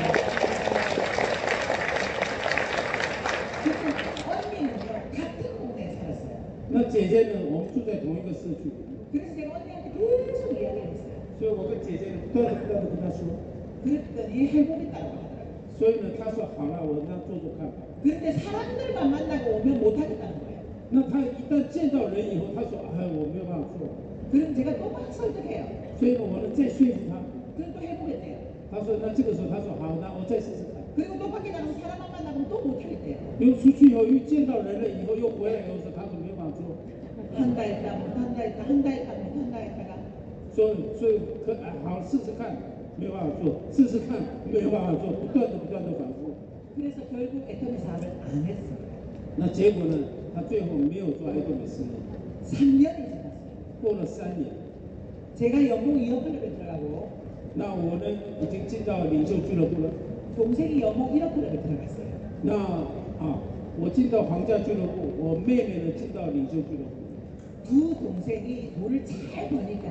언니는요 같은 동네에 살았어요. 那姐姐呢，我们住在同一个社区， 그래서 제가 언니한테 계속 이야기를 했어요. 所以我跟姐姐不断的不断的跟她说， 그랬더니 해보겠다고 하더라고요. 所以呢，她说好了，我那做做看吧。 그런데 사람들만 만나고 오면 못하겠다는 거예요. 那她一旦见到人以后，她说哎，我没有办法做， 그럼 제가 또 막 설득해요. 所以呢，我呢再说服她。 그럼 또 해보겠대요. 她说那这个时候，她说好，那我再试试看。 그리고 또 밖에 나가서 사람만 만나면 또 못하겠대요. 又出去以后，又见到人了以后，又回来以后说她说没有办法做， 한다 했다 못한다 했다 한다 했다 못한다 했다가 所以所以可哎好试试看，没有办法做，试试看没有办法做，不断的不断的反复。 그래서 결국 애터미 사업을 안 했습니다. 那结果呢，她最后没有做爱多美事业， 삼 년이 지났어요. 过了三年。 제가 영국 이어 클럽에 들어가고 那我呢，已经进到领袖俱樂部了。 동생이 영국 일어 클럽에 들어갔어요. 那啊，我进到皇家俱樂部，我妹妹呢进到領袖俱樂部。 두 동생이 돈을 잘 버니까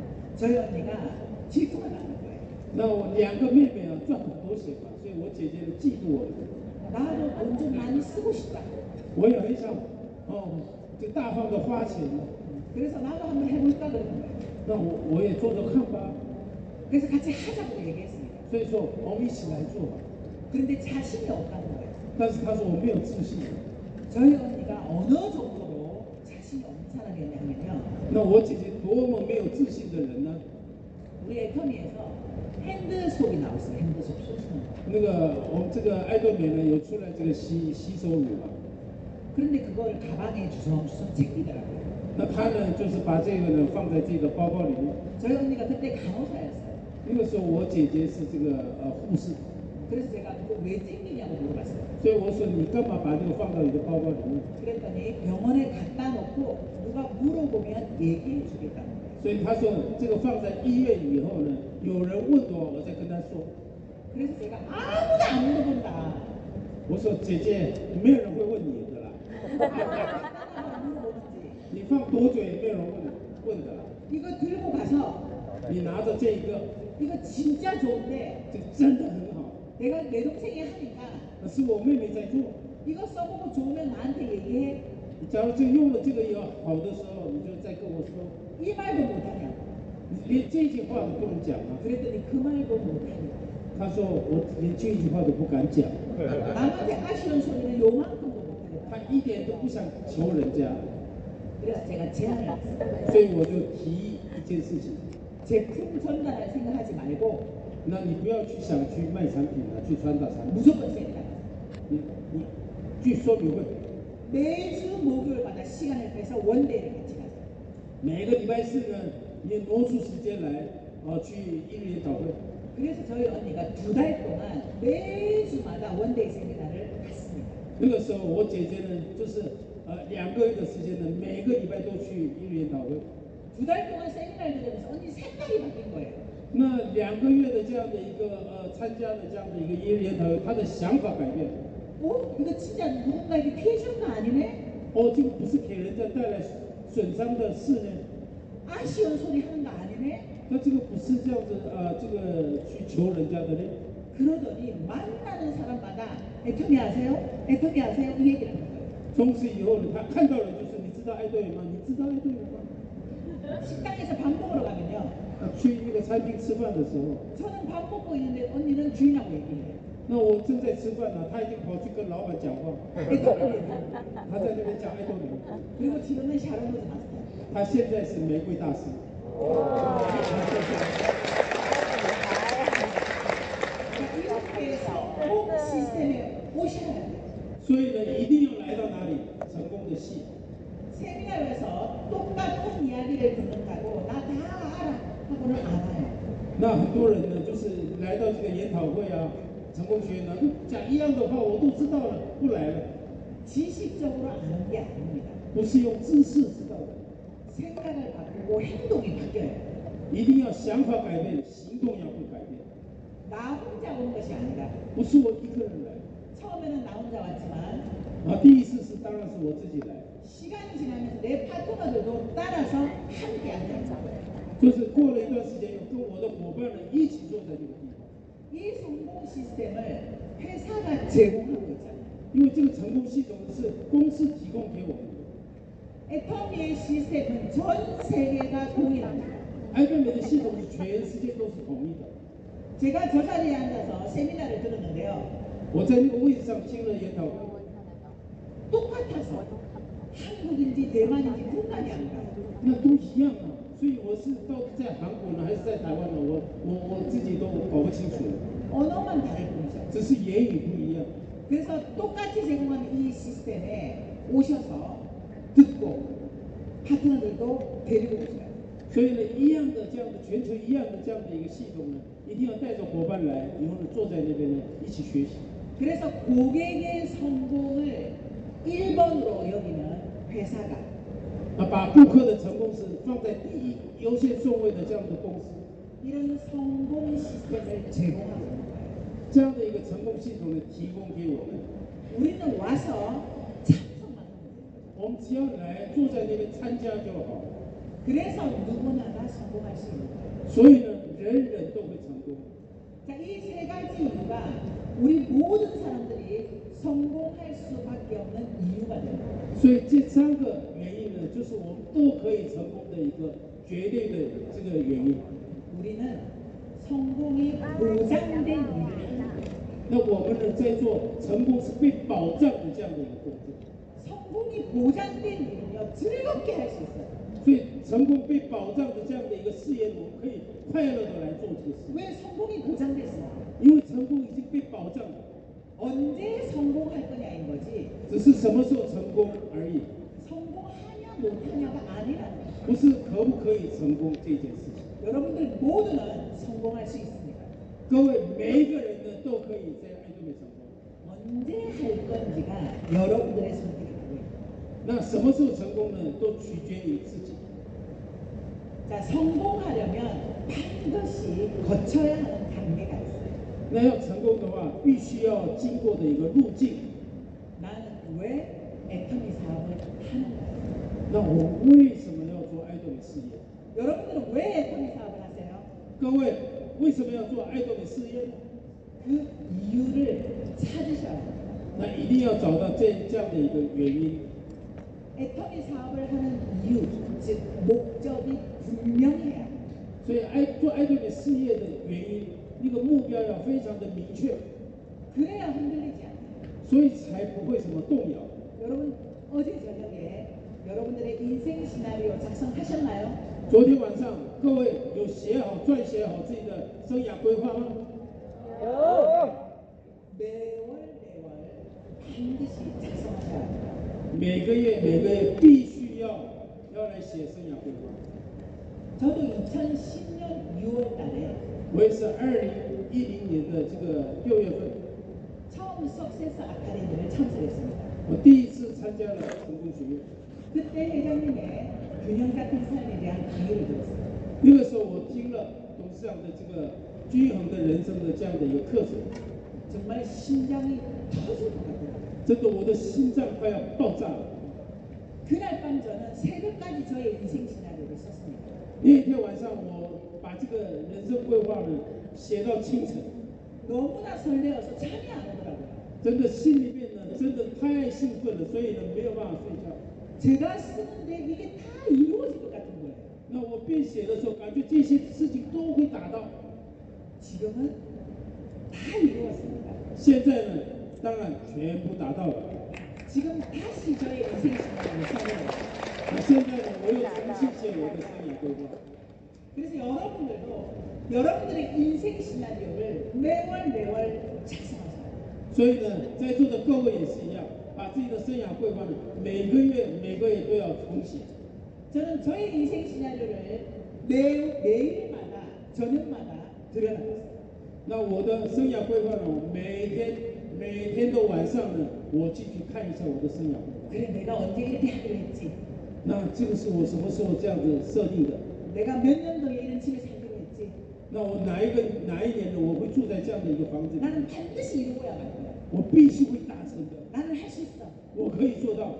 저희 언니가 질투가 나는 거예요. 那我两个妹妹啊賺很多錢嘛，所以我姐姐呢嫉妒我。 나도 돈 좀 많이 쓰고 싶다. 我也很想哦，就大方的花錢嘛。 그래서 나도 한번 해볼까 그러는 거예요. 那我我也做做看吧。 그래서 같이 하자고 얘기했습니다. 所以说我们一起來做吧。 그런데 자신이 없다는 거예요. 但是他說我沒有自信。 저희 언니가 어느 정도로 자신이 없는 사람이었냐면요. 那我姐姐多麼沒有自信的人呢？ 우리 애터미에서 핸드속이 나왔어요. 핸드속 쏘시는 거. 那個我們這個愛多美呢有出來這個洗洗手乳嘛。 그런데 그거를 가방에 주섬주섬 챙기더라고요. 那他呢就是把這個呢放在這個包包裡面。 저희 언니가 그때 간호사였어요. 那個時候我姐姐是這個呃護士， 그래서 제가 그거 왜 챙기냐고 물어봤어요. 所以我說你幹嘛把這個放到你的包包裡面？ 그랬더니 병원에 갖다 놓고 누가 물어보면 얘기해 주겠다는 거예요. 所以他說這個放在醫院以後呢，有人問我，我再跟他說。 그래서 제가 아무도 안 물어본다. 我說姐姐，沒有人會問你的啦， 물어보는지. 你放多久也沒有人問問的啦。 이거 들고 가서 你拿着這一個， 이거 진짜 좋은데 這個真的很好， 내가 내 동생이 하니까 那是我妹妹在做。 이거 써보고 좋으면 나한테 얘기해. 你假如這個用了這個以後好的時候，你就再跟我說。 이 말도 못하냐고. 你連這句話都不能講啊？ 그랬더니 그 말도 못하냐고. 他說我連這句話都不敢講， 남한테 아쉬운 소리는 요만큼도 못하겠다. 他一點都不想求人家， 그래서 제가 제안을 했어요. 所以我就提一件事情。 제품 전달할 생각하지 말고 那你不要去想去賣產品了，去傳達產品。 무조건 세미나. 你你去說明會， 매주 목요일마다 시간을 빼서 원데이를 같이 가자. 每個禮拜四呢，你挪出時間來，啊，去一日研討會。 그래서 저희 언니가 두 달 동안 매주마다 원데이 세미나를 갔습니다. 那個時候我姐姐呢，就是呃兩個月的時間呢，每個禮拜都去一日研討會。 두 달 동안 세미나를 들으면서 언니 생각이 바뀐 거예요. 那兩個月的這樣的一個呃參加的這樣的一個一日研討會，他的想法改變了。 어? 이거 진짜 누군가에게 피해 주는 거 아니네? 哦，這個不是給人家帶來損傷的事呢？ 아쉬운 소리 하는 거 아니네? 那這個不是這樣子啊、呃，這個去求人家的呢？ 그러더니 만나는 사람마다 애터미 아세요? 애터미 아세요? 이 얘기를 하는 거예요. 從此以後呢，他看到人就是你知道愛多美嗎？你知道愛多美嗎？ 식당에서 밥 먹으러 가면요. 啊，去那個餐廳吃飯的時候， 저는 밥 먹고 있는데 언니는 주인하고 얘기해요. 那我正在吃飯呢，他已經跑去跟老闆講話， 애터미 얘기. 他在那邊講愛多美。 그리고 지금은 샤론로즈 마스터. 他現在是玫瑰大師。 이렇게해서 꼭 시스템에 오셔야 돼요. 所以呢，一定要來到哪裡？成功的系。 세미나에서 똑같은 이야기를 듣는다고 나 다 알아 하고는 안 와요. 那很多人呢，就是來到這個研討會啊，成功學院呢，講一樣的話，我都知道了，不來了。 지식적으로 아는 게 아닙니다. 不是用知識知道的， 생각을 바꾸고 행동이 바뀌어요. 一定要想法改變，行動要會改變。 나 혼자 온 것이 아니라 不是我一個人來， 처음에는 나 혼자 왔지만 啊，第一次是當然是我自己來， 시간이 지나면서 내 파트너들도 따라서 함께 앉는 거예요. 就是过了一段时间，有跟我的伙伴们一起坐在这个地方。 이 성공 시스템을 회사가 제공하고 있잖아요. 因为这个成功系统是公司提供给我们的。 애터미의 시스템은 전 세계가 동일합니다. 艾顿美的系统是全世界都是统一的。 제가 저 자리에 앉아서 세미나를 들었는데요. 我在那个位置上听了研讨会， 똑같아서 한국인지 대만인지 분간이 안 가요. 那都一样啊。所以我是到底在韩国呢，还是在台湾呢？我我我自己都搞不清楚了。 언어만 다를 뿐이죠. 只是言语不一样。 그래서 똑같이 제공하는 이 시스템에 오셔서 듣고 파트너들도 데리고 오셔요. 所以呢，一样的这样的全球一样的这样的一个系统呢，一定要带着伙伴来，以后呢坐在那边呢一起学习。 그래서 고객의 성공을 일 번으로 여기는 회사가 啊，把顾客的成功是放在第一优先顺位的这样的公司， 이런 성공 시스템을 제공하고 있는 거예요. 这样的一个成功系统呢提供给我们。 우리는 와서 참석만 하면 돼요. 我们只要来坐在那边参加就好。 그래서 누구나 다 성공할 수 있는 거예요. 所以呢，人人都会成功。 자, 이 세 가지 이유가 우리 모든 사람들이 성공할 수밖에 없는 이유가 돼요. 所以这三个原因呢，就是我们都可以成功的一个绝对的这个原因。 우리는 성공이 보장된 일을 하는 거예요. 那我们呢，在做成功是被保障的这样的一个工作。 성공이 보장된 일은요, 즐겁게 할 수 있어요. 所以成功被保障的这样的一个事业，我们可以快乐的来做这个事。 왜 성공이 보장됐어요? 因为成功已经被保障了， 언제 성공할 거냐인 거지 只是什么时候成功而已， 성공하냐 못하냐가 아니라는 거예요. 不是可不可以成功这件事情。 여러분들 모두는 성공할 수 있습니다. 各位每一个人呢，都可以在爱多美成功。 언제 할 건지가 여러분들의 선택이 되고요. 那什么时候成功呢？都取决于自己。 자, 성공하려면 반드시 거쳐야 하는 단계가 있어요. 那要成功的话，必须要经过的一个路径。 나는 왜 애터미 사업을 하는가요? 那我为什么要做爱多美事业？ 여러분들은 왜 애터미 사업을 하세요? 各位为什么要做爱多美事业呢？ 그 이유를 찾으셔야 합니다. 那一定要找到这这样的一个原因。 애터미 사업을 하는 이유, 즉 목적이 분명해야 합니다. 所以爱做爱多美事业的原因，那个目标要非常的明确， 그래야 흔들리지 않아요. 所以才不会什么动摇。 여러분 어제 저녁에 여러분들의 인생 시나리오 작성하셨나요? 昨天晚上各位有写好、撰写好自己的生涯规划吗？ 매월 매월 반드시 작성하셔야 합니다. 每个月每个月必须要要来写生涯规划。 저도 이천십 년 유월 달에 我也是二零一零年的这个六月份， 처음 석세스 아카데미를 참석했습니다. 我第一次参加了成功学院。 그때 회장님의 균형 같은 삶에 대한 강의를 들었어요. 那个时候我听了董事长的这个均衡的人生的这样的一个課程， 정말 심장이 터질 것 같아요. 真的我的心臟快要爆炸了。 그날 밤 저는 새벽까지 저의 인생 시나리오를 썼습니다. 那一天晚上，我把这个人生规劃呢寫到清晨， 너무나 설레어서 잠이 안 오더라고요. 真的心裡面呢真的太興奮了，所以呢沒有辦法睡覺。 제가 쓰는데 이게 다 이루어질 것 같은 거예요. 那我編寫的時候，感覺這些事情都會達到。 지금은 다 이루었습니다. 現在呢，當然全部達到了。 지금 다시 저의 인생 시나리오를 써내요. 那現在呢，我又重新寫我的生涯規劃。 그래서 여러분들도 여러분들의 인생 시나리오를 매월 매월 작성하세요. 所以呢，在座的各位也是一樣，把自己的生涯規劃呢，每個月每個月都要重寫。 저는 저의 인생 시나리오를 매, 매일마다 저녁마다 들여다봤어요. 那我的生涯規劃呢，我每天每天的晚上呢，我進去看一下我的生涯規劃。 그래 내가 언제 이렇게 하기로 했지. 那這個是我什麼時候這樣子設定的？ 내가 몇 년도에 이런 집에 살기로 했지. 那我哪一個哪一年呢？我會住在這樣的一個房子裡， 나는 반드시 이루어야 할 거야. 我必須會達成的， 나는 할 수 있어. 我可以做到。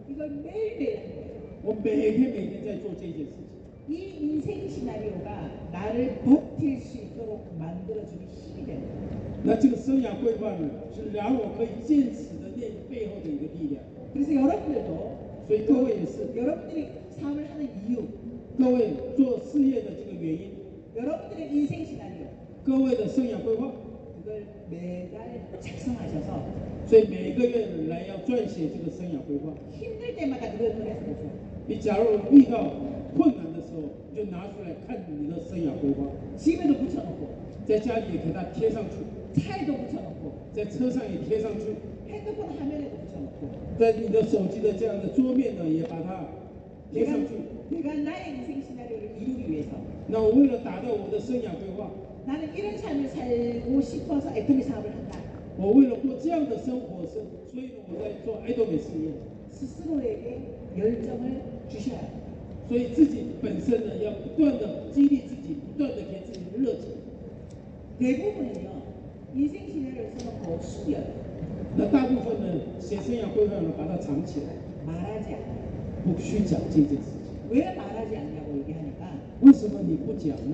이걸 매일매일 하는 거예요. 我每天每天在做这件事情。 이 인생 시나리오가 나를 버틸 수 있도록 만들어주는 힘이 되는 거예요. 那这个生涯规划呢，是让我可以坚持的那个背后的一个力量。 그래서 여러분들도 所以各位也是， 여러분들이 삶을 하는 이유, 各位做事业的这个原因， 여러분들의 인생 시나리오 各位的生涯规划， 그걸 매달 작성하셔서 所以每个月来要撰写这个生涯规划。 힘들 때마다 그걸 꺼내서 보세요. 你假如遇到困难的时候，就拿出来看你的生涯规划， 집에도 붙여놓고 在家里也给它贴上去， 차에도 붙여놓고 在车上也贴上去， 핸드폰 화면에도 붙여놓고 在你的手机的这样的桌面呢，也把它贴 내가, 上去。 내가 나의 인생 시나리오를 이루기 위해서 那我为了达到我的生涯规划， 나는 이런 삶을 살고 싶어서 애터미 사업을 한다. 我为了过这样的生活生，所以呢，我在做爱多美事业。 스스로에게 열정을 주셔야 해요. 所以自己本身呢，要不断的激励自己，不断的给自己热情。 대부분은요, 인생 시나리오를 써놓고 숨겨요. 那大部分呢，写生涯规划呢，把它藏起来， 말하지 않아요. 不去讲这件事情。 왜 말하지 않냐고 얘기하니까 为什么你不讲呢？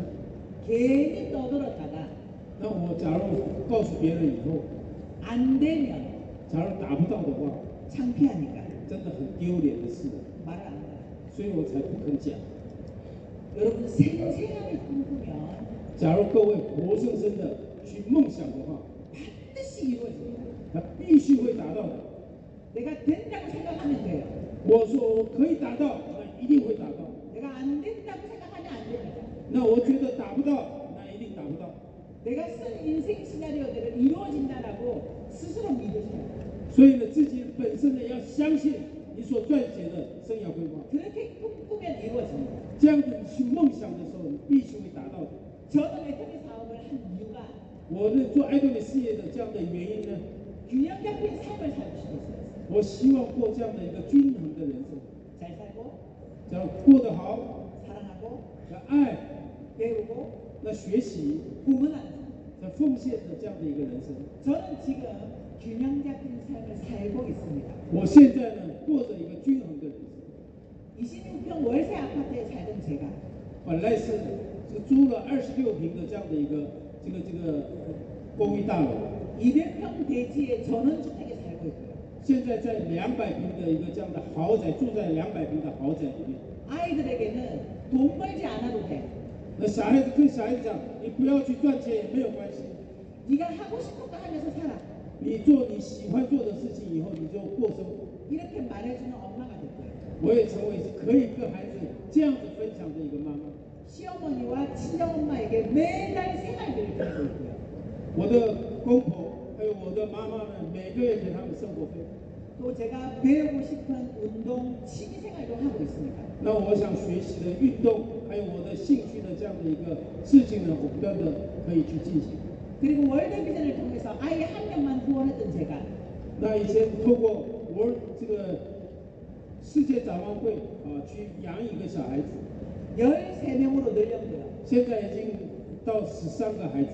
괜히 떠들었다가 那我假如告訴別人以後， 안 되면 假如達不到的話， 창피하니까 真的很丟臉的事， 말을 안 해요. 所以我才不肯講。 여러분 생생하게 꿈꾸면 假如各位活生生的去夢想的話， 반드시 이루어집니다. 它必須會達到的。 내가 된다고 생각하면 돼요. 我說我可以達到，那一定會達到。 내가 안 된다고 생각하면 안 됩니다. 那我覺得達不到，那一定達不到。 내가 쓴 인생 시나리오대로 이루어진다라고 스스로 믿으셔야 돼요. 所以呢，自己本身呢要相信你所撰寫的生涯規劃。 그렇게 꿈꾸면 이루어집니다. 這樣子你去夢想的時候，你必須會達到的。 저는 애터미 사업을 한 이유가 我呢做愛多美事業的這樣的原因呢， 균형 잡힌 삶을 살고 싶었어요. 我希望過這樣的一個均衡的人生， 잘 살고 只要過得好， 사랑하고 要愛， 배우고 那學習， 구원하는 要奉獻的這樣的一個人生。 저는 지금 균형 잡힌 삶을 살고 있습니다. 我現在呢過着一個均衡的人生。 이십육 평 월세 아파트에 살던 제가 本來是是租了二十六平的這樣的一個這個這個公寓大樓， 이백 평 대지의 전원주택에 살고 있고요. 現在在兩百平的一個這樣的豪宅，住在兩百平的豪宅裡面。 아이들에게는 돈 벌지 않아도 돼. 那小孩子跟小孩子講，你不要去賺錢也沒有關係， 네가 하고 싶은 거 하면서 살아. 你做你喜歡做的事情以後，你就過生活。 이렇게 말해주는 엄마가 될 거예요. 我也成為是可以跟孩子這樣子分享的一個媽媽。 시어머니와 친정엄마에게 매달 생활비를 드리고 있고요. 我的公婆還有我的媽媽呢，每個月給他們生活費。 또 제가 배우고 싶은 운동, 취미생활도 하고 있습니다. 那我想學習的運動，還有我的興趣的這樣的一個事情呢，我不斷的可以去進行。 그리고 월드비전을 통해서 아이 한 명만 후원했던 제가 那以前透過我這個世界展望會啊，去養一個小孩子， 열세 명으로 늘렸고요. 現在已經到十三個孩子，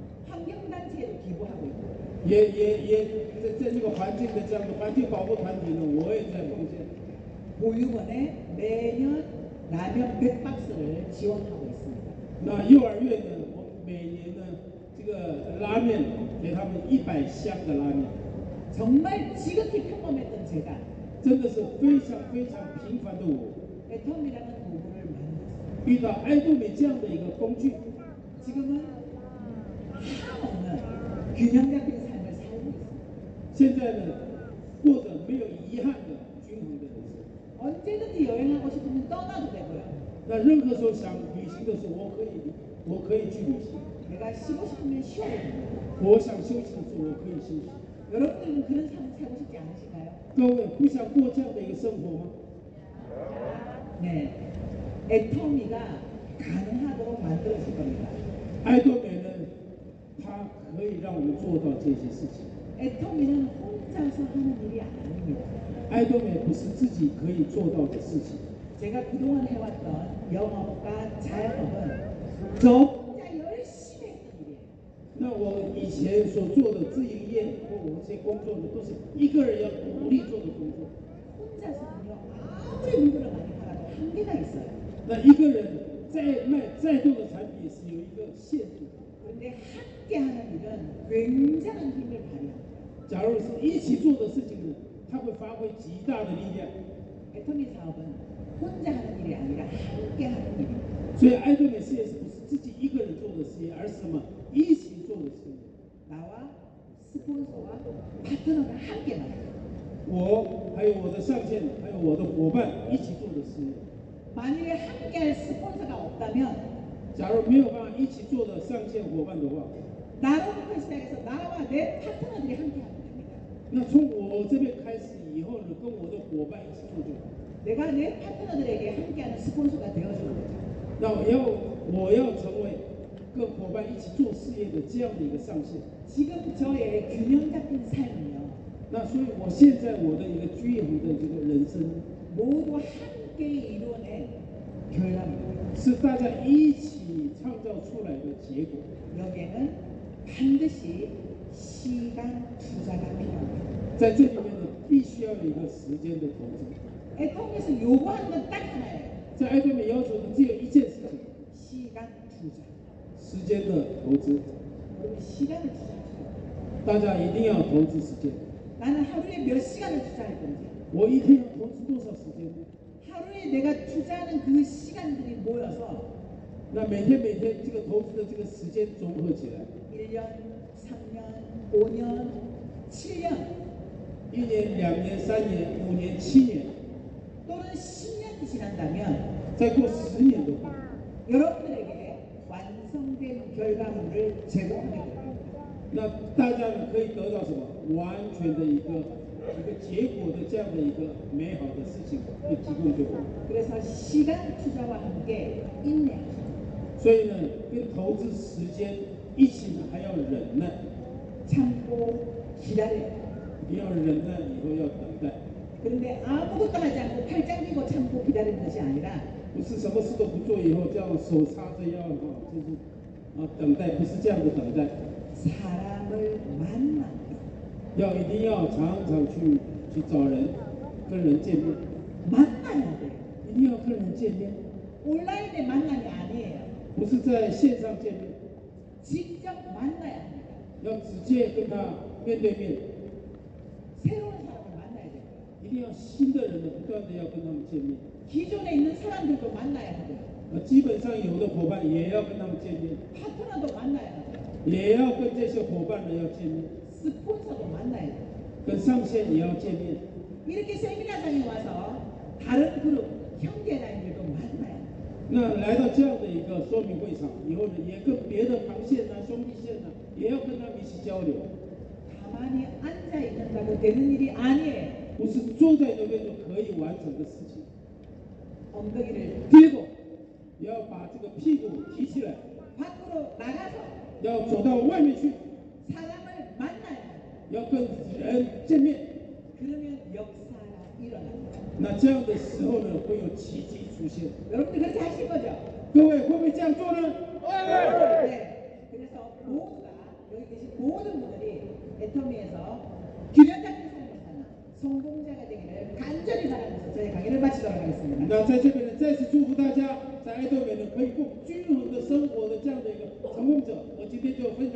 환경단체에도 기부하고 있고요. 也也也在在這個環境的這樣的環境保護團體呢，我也在奉獻。 보육원에 매년 라면 백 박스를 지원하고 있습니다. 那幼兒園呢，我每年呢，這個拉麵給他們一百箱的拉麵， 정말 지극히 평범했던 제가 真的是非常非常平凡的我， 애텀이라는 도구를 만들었어요. 遇到愛多美這樣的一個工具， 지금은 한없는 균형 잡힌 삶을 살고 있습니다. 現在呢，過着沒有遺憾的均衡的人生。 언제든지 여행하고 싶으면 떠나도 되고요. 那任何時候想旅行的時候，我可以我可以去旅行； 내가 쉬고 싶으면 쉬어도 됩니다. 我想休息的時候，我可以休息。 여러분들은 그런 삶을 살고 싶지 않으신가요? 各位不想過這樣的一個生活嗎？ 네. 애터미가 가능하도록 만들어질 겁니다. 愛多美呢，它可以讓我們做到這些事情。 애터미는 혼자서 하는 일이 아닙니다. 愛多美不是自己可以做到的事情。 제가 그동안 해왔던 영업과 자영업은 저 혼자 열심히 했던 일이에요. 那我以前所做的自營業或我這些工作呢，都是一個人要努力做的工作。 혼자서는요 아무리 물건을 많이 팔아도 한계가 있어요. 那一个人再卖再多的产品也是有一个限度。 그런데 함께하는 일은 굉장한 힘을 발휘합니다. 假如是一起做的事情呢，它会发挥极大的力量。 애터미 사업은 혼자 하는 일이 아니라 함께하는 일입니다. 所以爱多美事业是不是自己一个人做的事业，而是什么一起做的事业？ 나와 스폰서와 파트너가 함께 만들어요. 我还有我的上线，还有我的伙伴一起做的事业。 만일에 함께할 스폰서가 없다면 假如没有办法一起做的上线伙伴的话， 나로부터 시작해서 나와 내 파트너들이 함께하면 됩니다. 那从我这边开始以后呢，跟我的伙伴一起做就好。 내가 내 파트너들에게 함께하는 스폰서가 되어주는 거죠. 那我要我要成为跟伙伴一起做事业的这样的一个上线。 지금 저의 균형 잡힌 삶은요. 那所以我现在我的一个均衡的这个人生， 모두 함께 이루어낸 결과입니다. 是大家一起创造出来的结果。 여기에는 반드시 시간 투자가 필요합니다. 在这里面呢，必须要有一个时间的投资。 애통에서 요구하는 건 딱 하나예요. 在爱多美要求的只有一件事情， 시간 투자. 时间的投资。 여러분 시간을 투자하세요. 大家一定要投资时间。 나는 하루에 몇 시간을 투자할 건지, 我一天要投资多少时间呢？ 하루에 내가 투자하는 그 시간들이 모여서 那每天每天这个投资的这个时间综合起来， 일 년, 삼 년, 오 년, 칠 년 一年、两年、三年、五年、七年， 또는 십 년이 지난다면 再过十年的话， 여러분들에게 완성된 결과물을 제공하게 됩니다. 那大家呢可以得到什么？完全的一个一个结果的这样的一个美好的事情，会提供给我们。 그래서 시간 투자와 함께 인내하십시오. 所以呢，跟投资时间一起呢，还要忍耐， 참고 기다려요. 你要忍耐，以后要等待， 그런데 아무것도 하지 않고 팔짱 끼고 참고 기다리는 것이 아니라 不是什么事都不做以后这样手插着腰哈，就是啊等待，不是这样的等待。 사람을 만나 要一定要常常去去找人，跟人见面， 만나야 돼요. 一定要跟人见面， 온라인의 만남이 아니에요. 不是在线上见面， 직접 만나야 합니다. 要直接跟他面对面， 새로운 사람을 만나야 돼요. 一定要新的人呢，不断的要跟他们见面。 기존에 있는 사람들도 만나야 하고요. 那基本上有的伙伴也要跟他们见面， 파트너도 만나야 하고요. 也要跟这些伙伴呢要见面， 스폰서도 만나야 돼요. 跟上线也要见面。 이렇게 세미나장에 와서 다른 그룹 형제 라인들도 만나야 돼요. 那来到这样的一个说明会场以后呢，也跟别的航线啊、兄弟线啊，也要跟他们一起交流， 가만히 앉아 있는다고 되는 일이 아니에요. 不是坐在那边就可以完成的事情。 엉덩이를 第二个，要把这个屁股提起来， 밖으로 나가서 要走到外面去， 사람을 만나야 돼요. 要跟人见面。 그러면 역사가 일어납니다. 那这样的时候呢，会有奇迹出现。 여러분들 그렇게 하실 거죠? 各位会不会这样做呢？ 네. 그래서 모두가 여기 계신 모든 분들이 애터미에서 균형 잡힌 삶을 사는 성공자가 되기를 간절히 바라면서 저희 강의를 마치도록 하겠습니다. 那在这边呢，再次祝福大家，在爱多美呢可以过均衡的生活的这样的一个成功者。我今天就分享。